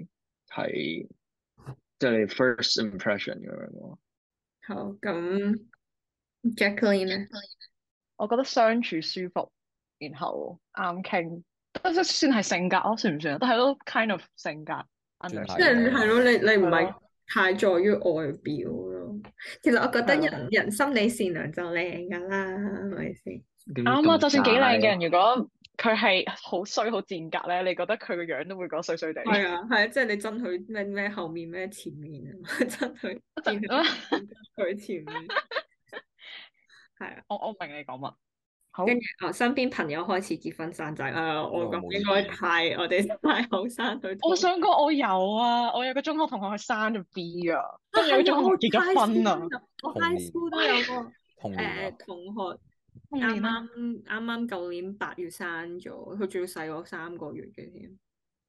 係即係你 first impression 咁樣咯。 好，咁 Jacqueline 咧？ 我覺得相處舒服，然後啱傾，都算係性格咯，算唔算啊？但係都 kind of 性格 under 即係係咯，你你唔係係咯太在於外表咯。其實我覺得係咯人人心理善良就靚噶啦，係咪先？ 啱啊！就算幾靚嘅人， 咁如果佢係好衰好賤格咧，你覺得佢個樣都會覺得衰衰地。 係啊，係啊，即係你憎佢咩咩後面咩前面啊，憎佢見佢佢前面，係啊。 我我明你講乜。好， 跟住我身邊朋友開始結婚生仔啊，我我冇咁應該意見太我哋太後生去討論。 我想講我有啊，我有個中學同學佢生咗 B 啊， 啊跟住有個中學同學結係啊咗婚啊， 我童 high 年 school 都有個童年啊誒同學童啱年啊， 啱啱啱舊年八月生咗，佢仲要細我三個月嘅添。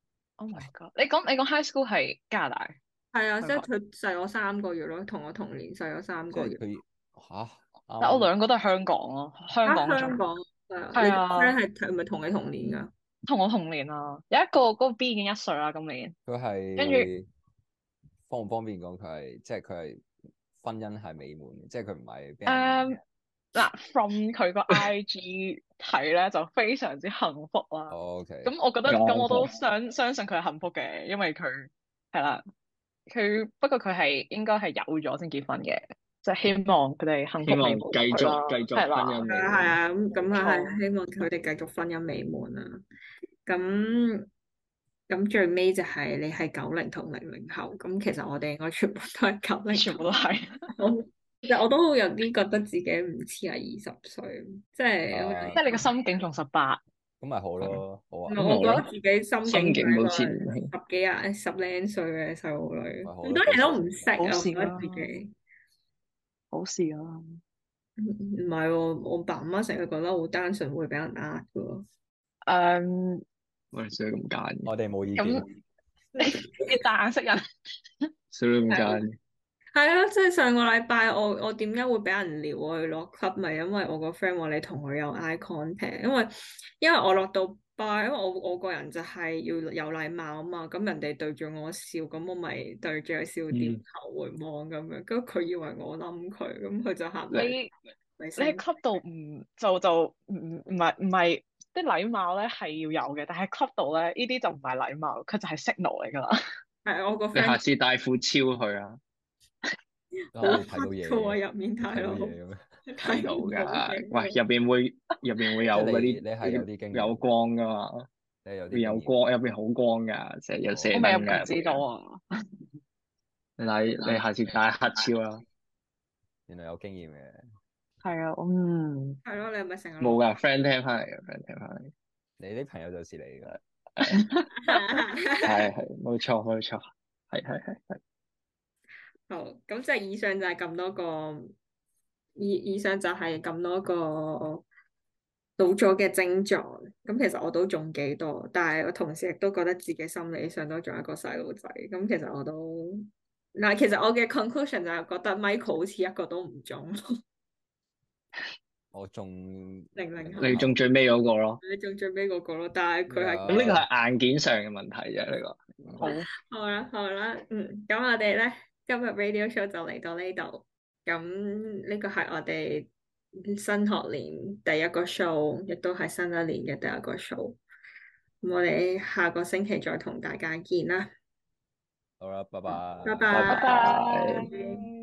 Oh my god！你講你講 high school 係加拿大， 係啊，即係香港佢細我三個月咯，同我同年細我三即個月。 係佢吓， 但我啱兩個都係香港咯，香啊， 港種香港係啊， 係你啊 friend 係係咪同你同年㗎？ 同我同年啊，有一個嗰個 B 已經一歲啦，今年。 佢跟係方唔方便講佢係即係佢係婚姻係美滿嘅，即係佢唔係俾人誒嗱，from 佢個 I G 睇咧就非常之幸福啦。 哦，OK， 咁我覺得幸福咁我都相相信佢係幸福嘅，因為佢係啦，佢不過佢係應該係有咗先結婚嘅，即係希望佢哋幸希望福美滿繼續啦繼續係啦婚姻美係啊係啊，咁咁啊冇係希望佢哋繼續婚姻美滿啊。咁咁最尾就係你係九零同零零後，咁其實我哋應該全部都係九零全部都係。 後。其實我都有啲覺得自己唔似係二十歲，即係因為啊即係你個心境仲十八， 咁咪好咯，好啊， 我覺得自己心心境境係一個好似唔十幾廿十零歲嘅細路女， 咪好咯好多嘢都唔識啊， 好事我覺得啦自己。 好事啊！ 唔唔係喎，我爸媽成日覺得好單純，會俾人呃嘅喎。 誒我哋所以咁奸， 我哋冇意咁見， 你大眼識人， 所以咁奸。 係啊，即係上個禮拜我我點解會俾人撩我去落 club，咪因為我個 friend 話你同佢有 eye contact，因為因為我落到 bar，因為我我個人就係要有禮貌啊嘛，咁人哋對住我笑，咁我咪對住佢笑，點頭回望咁樣，咁佢以為我冧佢，咁佢就行嚟你嚟你喺聲 club 度唔就就唔唔係唔係啲禮貌咧係要有嘅，但係 club 度咧呢啲就唔係禮貌，佢就係 signal 嚟㗎啦。 係我個你下 friend 次帶副超去啊， 好可以睇到嘢黑嘅嘅， 入面大睇到佬嘢嘅咩？ 睇到唔㗎。 嘅喂，入邊會入邊會有即係嗰你你係有啲啲經驗有光㗎嘛， 你有啲會有經驗光，入邊好光㗎，成日有射我未入燈㗎。 唔知道啊。 你你下次帶黑超啦， 原來有經驗嘅， 係啊，嗯， 係咯，你係咪成日冇㗎，friend 聽翻嚟嘅，friend 聽翻嚟。 你啲朋友就是你㗎， 係係冇錯冇錯，係係係係。 好，咁即係以上就係咁多個，以以上就係咁多個老咗嘅症狀。咁其實我都仲幾多，但係我同時亦都覺得自己心理上都仲係一個細路仔。咁其實我都嗱，其實我嘅 conclusion 就係覺得 Michael 好似一個都唔中， 我仲零零後你中最尾嗰個咯， 你中最尾嗰個咯，但係佢係咁呢個係硬件上嘅問題啫，呢個。 好， 好啦好啦，嗯，咁我哋咧今日 radio show 就嚟到呢度，咁呢個係我哋新學年第一個 show，亦都係新一年嘅第一個 show。咁我哋下個星期再同大家見啦， 好啦，拜拜， 拜拜拜。 拜拜。